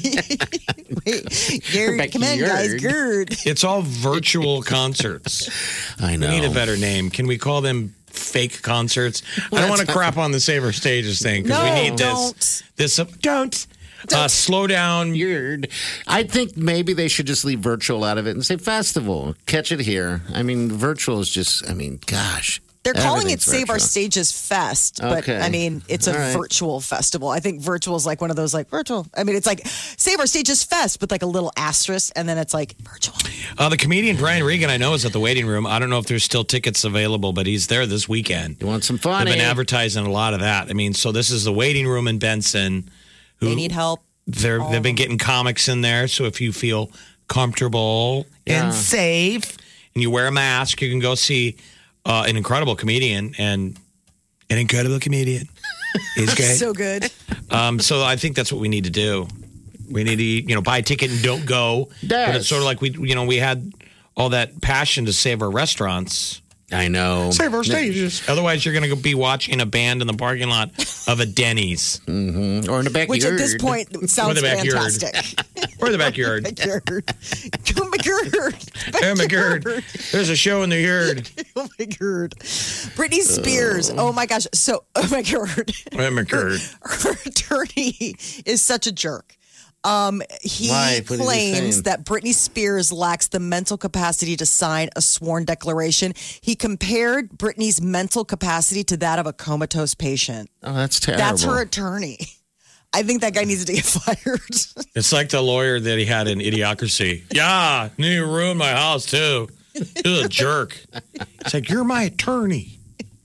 Speaker 6: Gerd, come in, guys, Gerd.
Speaker 5: It's all virtual concerts.
Speaker 4: I know.
Speaker 5: We need a better name. Can we call them fake concerts? I don't want to crap on the Save Our Stages thing because
Speaker 6: No,
Speaker 5: we need
Speaker 6: don't.
Speaker 5: this. This uh, don't. Uh, slow down.
Speaker 4: Weird. I think maybe they should just leave virtual out of it and say festival. Catch it here. I mean, virtual is just, I mean, gosh.
Speaker 6: They're calling it
Speaker 4: everything's
Speaker 6: Save Our
Speaker 4: virtual.
Speaker 6: Stages Fest, but
Speaker 4: Okay.
Speaker 6: I mean, it's a
Speaker 4: All right.
Speaker 6: virtual festival. I think virtual is like one of those like virtual. I mean, it's like Save Our Stages Fest with like a little asterisk, and then it's like virtual.
Speaker 5: Uh, the comedian Brian Regan, I know, is at the waiting room. I don't know if there's still tickets available, but he's there this weekend.
Speaker 4: You want some
Speaker 5: They've
Speaker 4: fun?
Speaker 5: been
Speaker 4: eh?
Speaker 5: advertising a lot of that. I mean, so this is the waiting room in Benson. Who
Speaker 6: They need help.
Speaker 5: They're, they've been getting comics in there. So if you feel comfortable
Speaker 4: Yeah.
Speaker 5: and safe and you wear a mask, you can go see uh, an incredible comedian and an incredible comedian. He's great.
Speaker 6: So good.
Speaker 5: Um, so I think that's what we need to do. We need to, you know, buy a ticket and don't go. But it's sort of like we, you know, we had all that passion to save our restaurants.
Speaker 4: I know.
Speaker 5: Save our stages. Otherwise, you're going to be watching a band in the parking lot of a Denny's.
Speaker 4: Mm-hmm. Or in the backyard.
Speaker 6: Which at this point sounds
Speaker 5: Or the backyard.
Speaker 6: fantastic.
Speaker 5: Or the backyard.
Speaker 6: Backyard. Go backyard.
Speaker 5: Oh my God. There's a show in the yard.
Speaker 6: Oh my God. Britney Spears. Oh my gosh. So, oh my God.
Speaker 5: Oh my God.
Speaker 6: Her attorney is such a jerk. Um, he
Speaker 4: Why? What is he
Speaker 6: claims
Speaker 4: saying?
Speaker 6: that Britney Spears lacks the mental capacity to sign a sworn declaration. He compared Britney's mental capacity to that of a comatose patient.
Speaker 4: Oh, that's terrible.
Speaker 6: That's her attorney. I think that guy needs to get fired.
Speaker 5: It's like the lawyer that he had in Idiocracy. Yeah, you ruined my house too. You're a jerk. It's like, you're my attorney.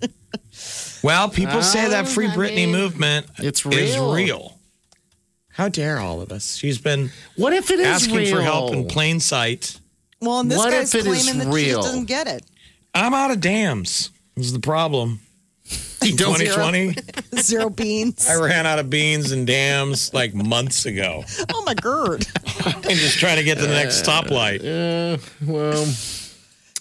Speaker 5: Well, people say that Free
Speaker 4: Oh, I
Speaker 5: Britney
Speaker 4: mean,
Speaker 5: movement
Speaker 4: it's
Speaker 5: is
Speaker 4: real.
Speaker 5: real. How dare all of us? She's been
Speaker 4: What if it is
Speaker 5: asking
Speaker 4: real?
Speaker 5: for help in plain sight.
Speaker 6: Well, and this
Speaker 4: What
Speaker 6: guy's
Speaker 4: if it is
Speaker 6: claiming that she
Speaker 4: real?
Speaker 6: just doesn't get it.
Speaker 5: I'm out of dams. This is the problem. twenty twenty,
Speaker 6: Zero beans.
Speaker 5: I ran out of beans and dams like months ago.
Speaker 6: Oh my God.
Speaker 5: I'm just trying to get to the next stoplight.
Speaker 4: Uh, well,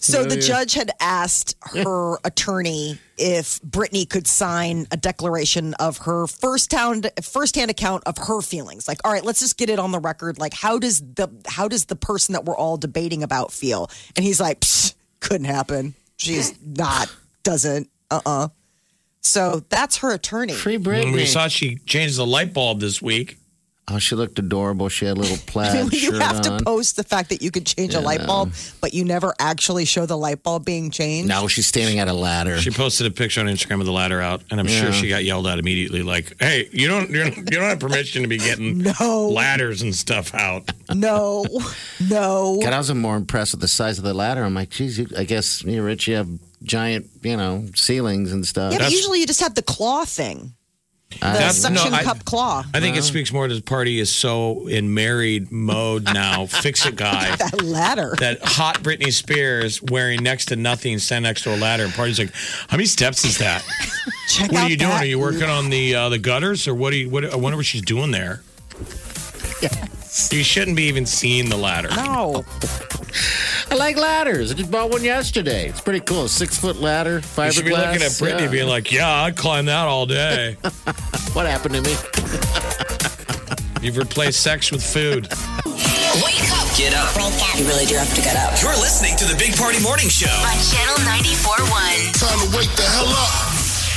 Speaker 6: So the
Speaker 4: yeah.
Speaker 6: judge had asked her attorney if Britney could sign a declaration of her first-hand first-hand account of her feelings. Like, all right, let's just get it on the record. Like, how does the how does the person that we're all debating about feel? And he's like, Psh, couldn't happen. She's not, doesn't, uh-uh. So that's her attorney.
Speaker 4: Free Britney.
Speaker 5: We saw she changed the light bulb this week.
Speaker 4: Oh, she looked adorable. She had a little plaid
Speaker 6: I mean, you
Speaker 4: shirt
Speaker 6: have
Speaker 4: on.
Speaker 6: to post the fact that you could change a
Speaker 4: Yeah.
Speaker 6: light bulb, but you never actually show the light bulb being changed.
Speaker 4: No, she's standing at a ladder.
Speaker 5: She posted a picture on Instagram of the ladder out, and I'm
Speaker 4: Yeah.
Speaker 5: sure she got yelled at immediately. Like, "Hey, you don't, you don't, you don't have permission to be getting
Speaker 6: no.
Speaker 5: ladders and stuff out."
Speaker 6: No, no.
Speaker 4: God, I was more impressed with the size of the ladder. I'm like, geez, you, I guess you, Rich, you have giant, you know, ceilings and stuff.
Speaker 6: Yeah, but usually you just have the claw thing. The
Speaker 4: That's-
Speaker 6: suction
Speaker 5: no, I-
Speaker 6: cup claw.
Speaker 5: I think it speaks more to the party is so in married mode now. Fix it, guy.
Speaker 6: That ladder.
Speaker 5: That hot Britney Spears wearing next to nothing, standing next to a ladder, and party's like, "How many steps is that?
Speaker 6: Check
Speaker 5: what
Speaker 6: out
Speaker 5: are you doing?
Speaker 6: that.
Speaker 5: Are you working on the uh, the gutters, or what? Are you? What? I wonder what she's doing there.
Speaker 4: Yes.
Speaker 5: You shouldn't be even seeing the ladder.
Speaker 6: No.
Speaker 4: I like ladders. I just bought one yesterday. It's pretty cool. Six foot ladder, fiberglass.
Speaker 5: You should be looking at Britney,
Speaker 4: Yeah.
Speaker 5: being like, "Yeah, I'd climb that all day."
Speaker 4: What happened to me?
Speaker 5: You've replaced sex with food.
Speaker 3: Wake up
Speaker 7: Get up.
Speaker 3: You really do have to get up.
Speaker 7: You're listening to the Big Party Morning Show.
Speaker 3: On Channel ninety-four point one.
Speaker 2: Time to wake the hell up.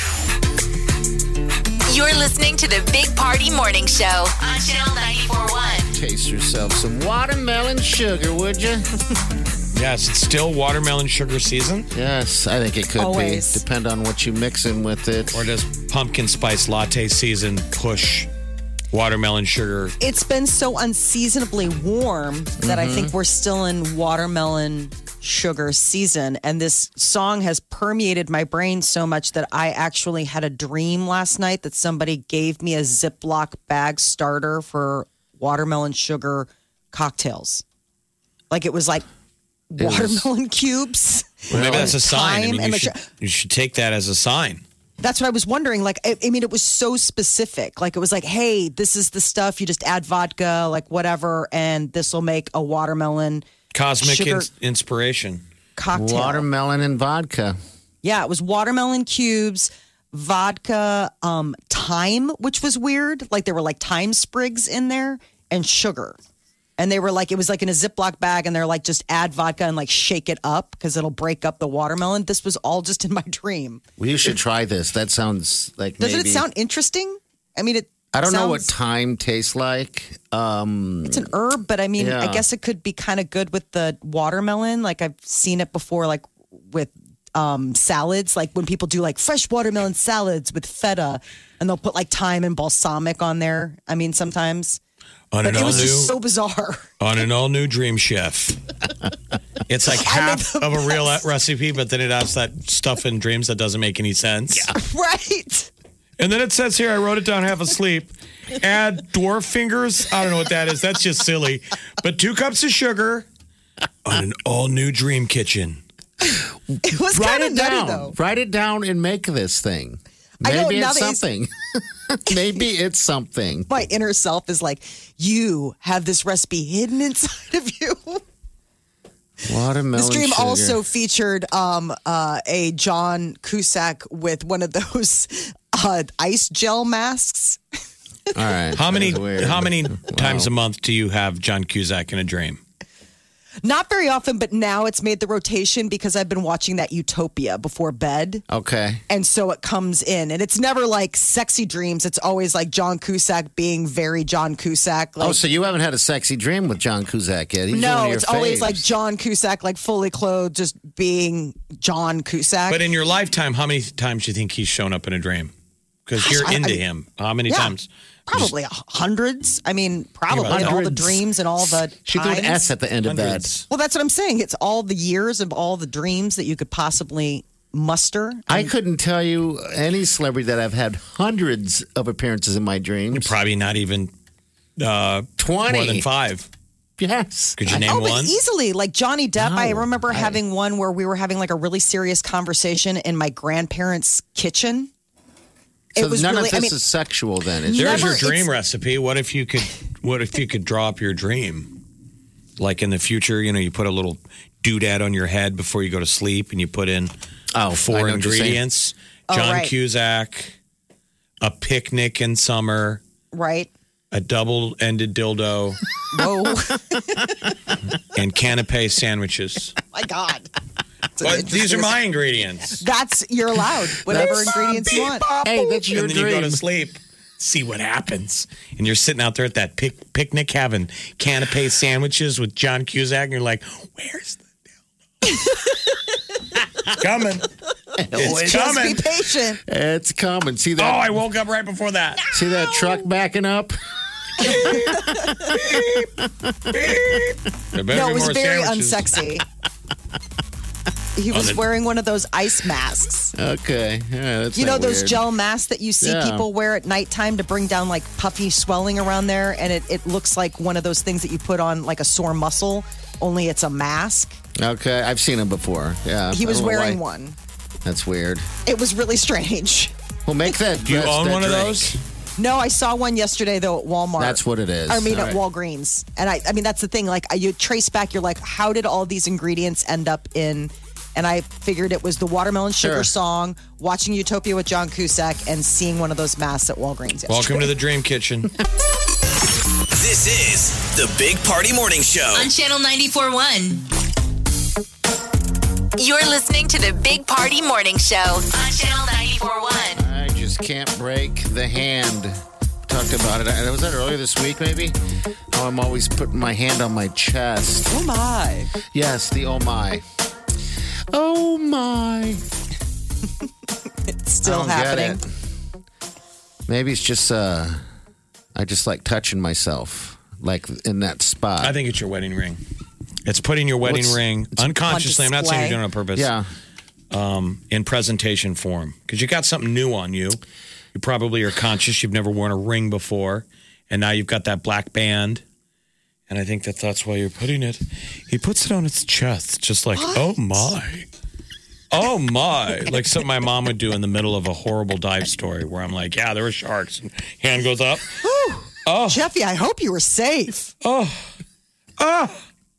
Speaker 3: You're listening to the Big Party Morning Show on Channel ninety-four point one.
Speaker 4: Taste yourself some watermelon sugar, would you?
Speaker 5: Yes, it's still watermelon sugar season.
Speaker 4: Yes, I think it could
Speaker 6: Always.
Speaker 4: be. Depend on what you mix in with it.
Speaker 5: Or does pumpkin spice latte season push watermelon sugar?
Speaker 6: It's been so unseasonably warm that I think we're still in watermelon sugar season. And this song has permeated my brain so much that I actually had a dream last night that somebody gave me a Ziploc bag starter for watermelon sugar cocktails. Like it was like
Speaker 4: was-
Speaker 6: watermelon cubes.
Speaker 5: Well, maybe that's a sign. I
Speaker 6: Time
Speaker 5: mean,
Speaker 6: and
Speaker 5: you should,
Speaker 6: mature-
Speaker 5: you should take that as a sign.
Speaker 6: That's what I was wondering. Like, I, I mean, it was so specific. Like, it was like, hey, this is the stuff. You just add vodka, like whatever, and this will make a watermelon
Speaker 5: Cosmic
Speaker 6: sugar
Speaker 5: ins- inspiration.
Speaker 6: cocktail.
Speaker 4: Watermelon and vodka.
Speaker 6: Yeah, it was watermelon cubes, vodka, um, thyme, which was weird. Like, there were like thyme sprigs in there, and sugar. And they were like, it was like in a Ziploc bag, and they're like, just add vodka and like shake it up because it'll break up the watermelon. This was all just in my dream.
Speaker 4: Well, you should try this. That sounds like
Speaker 6: Doesn't
Speaker 4: maybe.
Speaker 6: it sound interesting? I mean, it.
Speaker 4: I don't know what
Speaker 6: sounds-
Speaker 4: thyme tastes like. Um,
Speaker 6: It's an herb, but I mean, I
Speaker 4: Yeah.
Speaker 6: guess it could be kind of good with the watermelon. Like I've seen it before, like with um, salads, like when people do like fresh watermelon salads with feta, and they'll put like thyme and balsamic on there. I mean, sometimes.
Speaker 5: On
Speaker 6: But
Speaker 5: an
Speaker 6: it
Speaker 5: all
Speaker 6: was just
Speaker 5: new,
Speaker 6: so bizarre.
Speaker 5: on an all new Dream Chef. It's like half of a real recipe, but then it has that stuff in Dreams that doesn't make any sense.
Speaker 6: Right.
Speaker 5: And then it says here, I wrote it down half asleep. Add dwarf fingers. I don't know what that is. That's just silly. But two cups of sugar on an all new Dream Kitchen.
Speaker 6: It was
Speaker 4: write
Speaker 6: kind of
Speaker 4: it
Speaker 6: nutty,
Speaker 4: down.
Speaker 6: though.
Speaker 4: Write it down and make this thing.
Speaker 6: I know,
Speaker 4: Maybe
Speaker 6: now
Speaker 4: it's
Speaker 6: that he's-
Speaker 4: something. Maybe it's something.
Speaker 6: My inner self is like, you have this recipe hidden inside of you.
Speaker 4: Watermelon
Speaker 6: This dream
Speaker 4: sugar.
Speaker 6: also featured um, uh, a John Cusack with one of those uh, ice gel masks.
Speaker 4: All right.
Speaker 5: How many
Speaker 4: That is weird.
Speaker 5: how many
Speaker 4: Wow.
Speaker 5: times a month do you have John Cusack in a dream?
Speaker 6: Not very often, but now it's made the rotation because I've been watching that Utopia before bed.
Speaker 4: Okay.
Speaker 6: And so it comes in, and it's never like sexy dreams. It's always like John Cusack being very John Cusack. Like,
Speaker 4: oh, so you haven't had a sexy dream with John Cusack yet? He's one
Speaker 6: no,
Speaker 4: of your
Speaker 6: it's always
Speaker 4: faves.
Speaker 6: like John Cusack, like fully clothed, just being John Cusack.
Speaker 5: But in your lifetime, how many times do you think he's shown up in a dream? Because
Speaker 6: Gosh,
Speaker 5: you're
Speaker 6: I-
Speaker 5: into
Speaker 6: I-
Speaker 5: him. How many
Speaker 6: Yeah.
Speaker 5: times?
Speaker 6: Probably hundreds. I mean, probably
Speaker 5: about
Speaker 6: all the
Speaker 4: hundreds.
Speaker 6: dreams and all the
Speaker 4: She threw an
Speaker 6: times.
Speaker 4: S at the end of
Speaker 5: Hundreds.
Speaker 6: Well, that's what I'm saying. It's all the years of all the dreams that you could possibly muster.
Speaker 4: that. I couldn't tell you any celebrity that I've had hundreds of appearances in my dreams.
Speaker 5: Probably not even uh,
Speaker 4: twenty.
Speaker 5: more than five.
Speaker 4: Yes.
Speaker 5: Could you name
Speaker 6: oh, but
Speaker 5: one?
Speaker 6: easily. Like Johnny Depp, I
Speaker 4: No,
Speaker 6: remember
Speaker 4: I-
Speaker 6: having one where we were having like a really serious conversation in my grandparents' kitchen.
Speaker 4: So
Speaker 6: it was
Speaker 4: none
Speaker 6: really,
Speaker 4: of this
Speaker 6: I mean,
Speaker 4: is sexual then. It's
Speaker 5: There's
Speaker 6: Never-
Speaker 5: your dream
Speaker 6: it's-
Speaker 5: recipe. What if you could? What if you could draw up your dream? Like in the future, you know, you put a little doodad on your head before you go to sleep, and you put in
Speaker 4: oh,
Speaker 5: four ingredients.
Speaker 6: Oh,
Speaker 5: John
Speaker 6: right.
Speaker 5: Cusack, a picnic in summer,
Speaker 6: Right.
Speaker 5: a double-ended dildo,
Speaker 6: Whoa.
Speaker 5: and canapé sandwiches.
Speaker 6: My God.
Speaker 5: But these are my ingredients.
Speaker 6: That's, you're allowed. Whatever
Speaker 4: That's-
Speaker 6: ingredients you want.
Speaker 4: Hey, that's your
Speaker 5: and then
Speaker 4: dream.
Speaker 5: you go to sleep. See what happens. And you're sitting out there at that pic- picnic having canapé sandwiches with John Cusack, and you're like, where's the dildo? It's coming. It's
Speaker 6: Just
Speaker 5: coming.
Speaker 6: be patient.
Speaker 4: It's coming. See
Speaker 5: Oh,
Speaker 4: that?
Speaker 5: I woke up right before that.
Speaker 4: See that truck backing up?
Speaker 5: There better
Speaker 6: No,
Speaker 5: be
Speaker 6: it was
Speaker 5: more
Speaker 6: very
Speaker 5: sandwiches.
Speaker 6: unsexy. He was
Speaker 5: the-
Speaker 6: wearing one of those ice masks.
Speaker 4: Okay. Yeah, that's
Speaker 6: You know
Speaker 4: not
Speaker 6: those
Speaker 4: weird.
Speaker 6: gel masks that you see
Speaker 4: Yeah.
Speaker 6: people wear at nighttime to bring down like puffy swelling around there, and it, it looks like one of those things that you put on like a sore muscle, only it's a mask.
Speaker 4: Okay, I've seen him before. Yeah.
Speaker 6: He
Speaker 4: I
Speaker 6: was
Speaker 4: don't know
Speaker 6: wearing
Speaker 4: why.
Speaker 6: one.
Speaker 4: That's weird.
Speaker 6: It was really strange.
Speaker 4: Well, make that.
Speaker 5: Do you
Speaker 4: that's-
Speaker 5: own
Speaker 4: that
Speaker 5: one of
Speaker 4: drink.
Speaker 5: those?
Speaker 6: No, I saw one yesterday though at Walmart.
Speaker 4: That's what it is.
Speaker 6: I mean,
Speaker 4: All
Speaker 6: at
Speaker 4: right.
Speaker 6: Walgreens, and I, I mean that's the thing. Like you trace back, you're like, how did all these ingredients end up in? And I figured it was the Watermelon Sugar
Speaker 4: Sure.
Speaker 6: song, watching Utopia with John Cusack, and seeing one of those masks at Walgreens. Yesterday.
Speaker 5: Welcome to the Dream Kitchen.
Speaker 7: This is the Big Party Morning Show.
Speaker 3: On Channel ninety-four point one. You're listening to the Big Party Morning Show on Channel ninety-four point one.
Speaker 4: I just can't break the hand. Talked about it. I- Was that earlier this week, maybe? How I'm always putting my hand on my chest.
Speaker 6: Oh my!
Speaker 4: Yes, the oh my. Oh my.
Speaker 6: It's still
Speaker 4: I don't get
Speaker 6: happening.
Speaker 4: it. Maybe it's just, uh, I just like touching myself, like in that spot.
Speaker 5: I think it's your wedding ring. It's putting your wedding
Speaker 4: What's-
Speaker 5: ring unconsciously. I'm not saying you're doing it on purpose.
Speaker 4: Yeah.
Speaker 5: Um, in presentation form, because you got something new on you. You probably are conscious. You've never worn a ring before, and now you've got that black band. And I think that that's why you're putting it. He puts it on its chest, just like, oh my. Oh my. Like something my mom would do in the middle of a horrible dive story where I'm like, yeah, there were sharks. And hand goes up.
Speaker 6: Oh, Jeffy, I hope you were safe.
Speaker 5: Oh. Oh.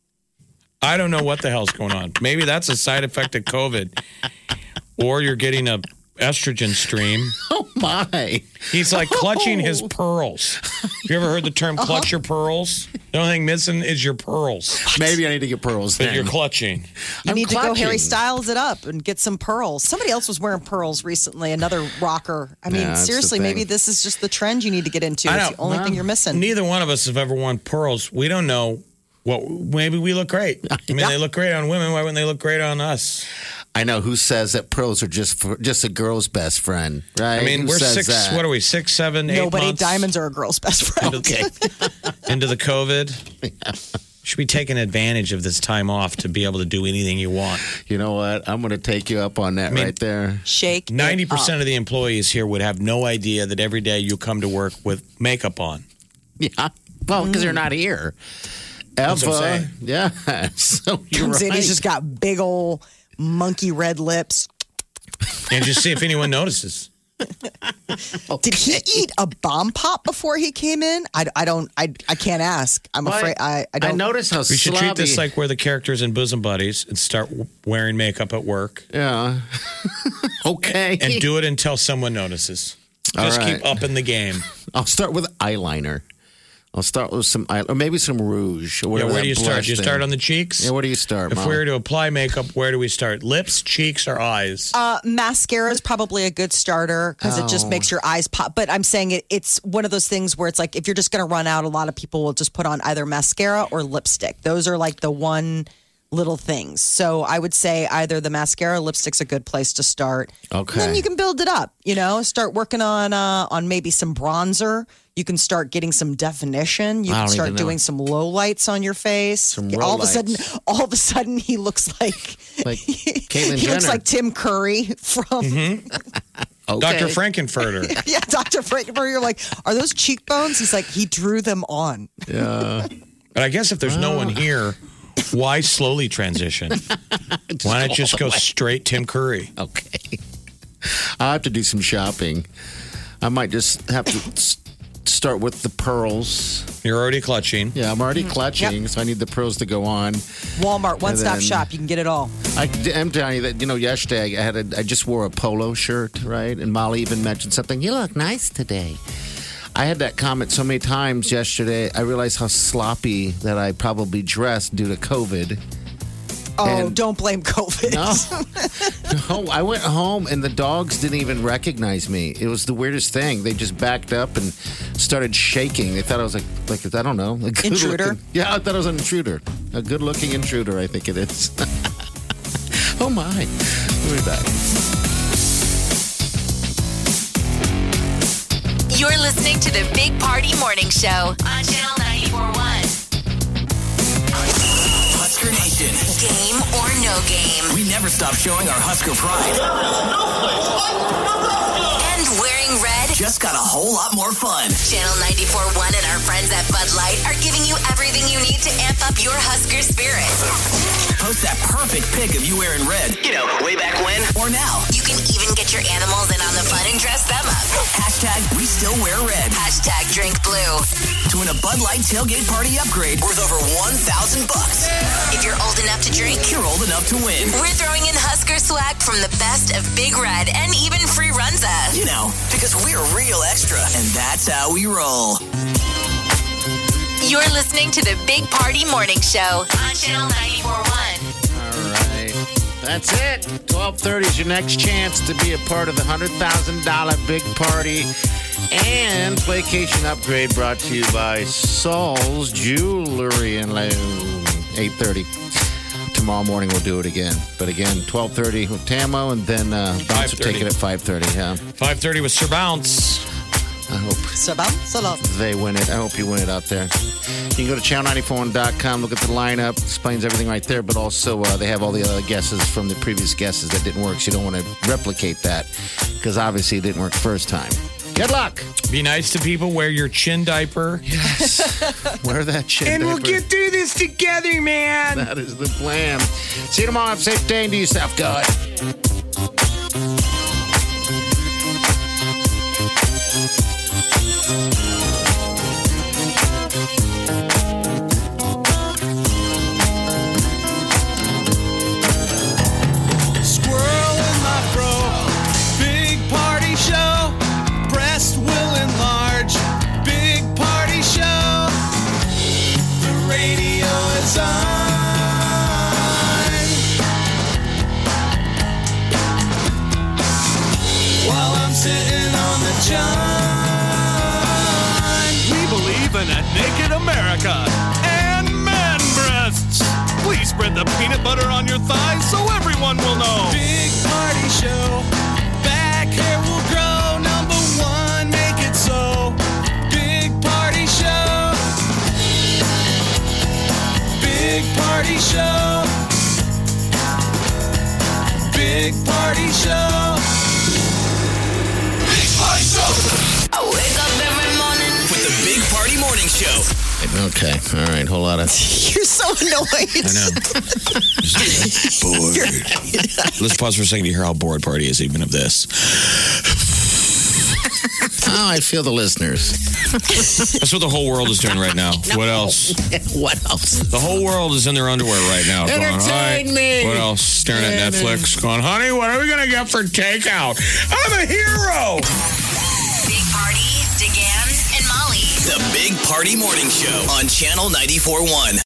Speaker 5: I don't know what the hell's going on. Maybe that's a side effect of COVID. Or you're getting a estrogen stream.
Speaker 4: Oh my.
Speaker 5: He's like clutching his pearls. You ever heard the term clutch your pearls? The only thing missing is your pearls.
Speaker 4: Maybe I need to get pearls
Speaker 5: But
Speaker 4: then.
Speaker 5: you're clutching.
Speaker 6: You
Speaker 4: I'm
Speaker 6: need to go
Speaker 4: clutching.
Speaker 6: Harry Styles it up and get some pearls. Somebody else was wearing pearls recently, another rocker. I mean,
Speaker 4: Yeah, that's the
Speaker 6: seriously,
Speaker 4: thing.
Speaker 6: maybe this is just the trend you need to get into.
Speaker 5: I
Speaker 6: It's
Speaker 5: know.
Speaker 6: the only
Speaker 4: Well,
Speaker 6: thing you're missing.
Speaker 5: Neither one of us have ever worn pearls. We don't know what. Maybe we look great. I mean,
Speaker 6: Yeah.
Speaker 5: they look great on women. Why wouldn't they look great on us?
Speaker 4: I know who says that pearls are just for, just a girl's best friend, right?
Speaker 5: I mean,
Speaker 4: Who
Speaker 5: we're
Speaker 4: says
Speaker 5: six.
Speaker 4: that?
Speaker 5: What are we? Six, seven, eight
Speaker 6: Nobody,
Speaker 5: months
Speaker 6: diamonds are a girl's best friend.
Speaker 5: Okay. into the COVID. Should be taking advantage of this time off to be able to do anything you want.
Speaker 4: You know what? I'm going to take you up on that
Speaker 5: mean-
Speaker 4: right there.
Speaker 6: Shake.
Speaker 5: Ninety
Speaker 6: it
Speaker 5: percent
Speaker 6: up.
Speaker 5: of the employees here would have no idea that every day you come to work with makeup on.
Speaker 4: Yeah. Well, because they're not here.
Speaker 5: That's what I'm
Speaker 4: Ever.
Speaker 5: saying.
Speaker 4: Yeah. So you're
Speaker 6: Comes in,
Speaker 4: right.
Speaker 6: he's just got big old monkey red lips.
Speaker 5: And just see if anyone notices.
Speaker 6: Did he eat a bomb pop before he came in? I, I don't. I I can't ask. I'm
Speaker 4: Well,
Speaker 6: afraid. I I
Speaker 4: I
Speaker 6: don't.
Speaker 4: notice how
Speaker 5: We should
Speaker 4: slobby.
Speaker 5: treat this like we're the characters in Bosom Buddies and start w- wearing makeup at work
Speaker 4: Yeah. Okay.
Speaker 5: and do it until someone notices. Just
Speaker 4: All right.
Speaker 5: keep up in the game.
Speaker 4: I'll start with eyeliner. I'll start with some, eye- or maybe some rouge. Or
Speaker 5: Yeah,
Speaker 4: whatever
Speaker 5: where
Speaker 4: that
Speaker 5: do you start?
Speaker 4: blush
Speaker 5: Do you
Speaker 4: thing.
Speaker 5: start on the cheeks?
Speaker 4: Yeah, where do you start,
Speaker 5: If
Speaker 4: Mom?
Speaker 5: we were to apply makeup, where do we start? Lips, cheeks, or eyes?
Speaker 6: Uh, mascara is probably a good starter because it just
Speaker 4: Oh.
Speaker 6: makes your eyes pop. But I'm saying it, it's one of those things where it's like if you're just going to run out, a lot of people will just put on either mascara or lipstick. Those are like the one little things. So I would say either the mascara or lipstick's a good place to start.
Speaker 4: Okay.
Speaker 6: Then you can build it up. You know, start working on uh, on maybe some bronzer. You can start getting some definition. You
Speaker 4: I
Speaker 6: can
Speaker 4: don't
Speaker 6: start
Speaker 4: even know.
Speaker 6: doing some low lights on your face.
Speaker 4: Some
Speaker 6: all of a
Speaker 4: lowlights.
Speaker 6: sudden, all of a sudden, he looks like
Speaker 4: Like Caitlyn
Speaker 6: he looks
Speaker 4: Jenner.
Speaker 6: like Tim Curry from
Speaker 4: Okay.
Speaker 5: Doctor Frankenfurter.
Speaker 6: yeah, Doctor Frankenberg. You're like, are those cheekbones? He's like, he drew them on.
Speaker 4: Yeah.
Speaker 5: But I guess if there's no one here, why slowly transition? Why not just go straight Tim Curry?
Speaker 4: Okay. I'll have to do some shopping. I might just have to s- start with the pearls.
Speaker 5: You're already clutching.
Speaker 4: Yeah, I'm already
Speaker 6: Mm-hmm.
Speaker 4: clutching,
Speaker 6: Yep.
Speaker 4: so I need the pros to go on.
Speaker 6: Walmart, one-stop
Speaker 4: then-
Speaker 6: shop. You can get it all.
Speaker 4: I, I'm telling you that, you know, yesterday I had a, I just wore a polo shirt, right? And Molly even mentioned something. You look nice today. I had that comment so many times yesterday. I realized how sloppy that I probably dressed due to COVID.
Speaker 6: Oh,
Speaker 4: And-
Speaker 6: don't blame COVID.
Speaker 4: No, no, I went home and the dogs didn't even recognize me. It was the weirdest thing. They just backed up and started shaking. They thought I was like, like I don't know, a good
Speaker 6: Intruder?
Speaker 4: looking- Yeah, I thought I was an intruder, a good-looking intruder. I think it is. Oh my! We'll be back.
Speaker 3: You're listening to the Big Party Morning Show on Channel ninety-four point one.
Speaker 7: Husker Nation.
Speaker 3: Game or no game.
Speaker 7: We never stop showing our Husker pride.
Speaker 3: And wearing red
Speaker 7: Just got a whole lot more fun.
Speaker 3: Channel ninety-four point one and our friends at Bud Light are giving you everything you need to amp up your Husker spirit.
Speaker 7: Post that perfect pic of you wearing red. You know, way back when. Or now.
Speaker 3: You can even get your animals in on the fun and dress them up.
Speaker 7: Hashtag we still wear red.
Speaker 3: Hashtag drink blue.
Speaker 7: To win a Bud Light tailgate party upgrade worth over one thousand bucks.
Speaker 3: If you're old enough to drink,
Speaker 7: You're old enough to win.
Speaker 3: we're throwing in Husker swag from the best of Big Red and even free Runza.
Speaker 7: You know, because we're real extra. And that's how we roll.
Speaker 3: You're listening to the Big Party Morning Show on Channel ninety-four point one.
Speaker 4: All right, that's it. twelve thirty is your next chance to be a part of the one hundred thousand dollars big party and Playcation Upgrade brought to you by Saul's Jewelry and Loan. eight thirty. Tomorrow morning we'll do it again. But again, twelve thirty with Tamo, and then uh, Bounce will take it at five thirty. Yeah,
Speaker 5: five thirty with Sir Bounce.
Speaker 4: I hope
Speaker 6: Salam, salam.
Speaker 4: they win it. I hope you win it out there. You can go to channel ninety-four one dot com, look at the lineup, explains everything right there, but also uh, they have all the other guesses from the previous guesses that didn't work, so you don't want to replicate that because obviously it didn't work first time. Good luck.
Speaker 5: Be nice to people. Wear your chin diaper.
Speaker 4: Yes. Wear that chin
Speaker 5: And we'll
Speaker 4: diaper.
Speaker 5: get through this together, man.
Speaker 4: That is the plan. See you tomorrow. Have a safe day and do yourself good.
Speaker 12: Squirrel in my fro. Big party show. Breast will enlarge. Big party show. The radio is on. While I'm sitting on the john. We believe in a naked America and man breasts. Please spread the peanut butter on your thighs so everyone will know. Big party show. Back hair will grow. Number one, make it so. Big party show. Big party show. Big party show. Big party show.
Speaker 3: I wake up every morning
Speaker 7: With the Big Party Morning Show.
Speaker 4: Okay. All right. Whole lot of.
Speaker 6: You're so annoyed.
Speaker 5: I know. Bored. Let's pause for a second to hear how bored Party is even of this.
Speaker 4: Oh, I feel the listeners.
Speaker 5: That's what the whole world is doing right now. What else?
Speaker 4: What else?
Speaker 5: The whole world is in their underwear right now. going,
Speaker 4: Entertain
Speaker 5: "Hi."
Speaker 4: me.
Speaker 5: What else? Staring at
Speaker 4: Yeah,
Speaker 5: Netflix, going, honey, what are we going to get for takeout? I'm a hero.
Speaker 3: Big Party, DeGan, and Molly.
Speaker 7: The Big Party Morning Show on Channel ninety-four point one.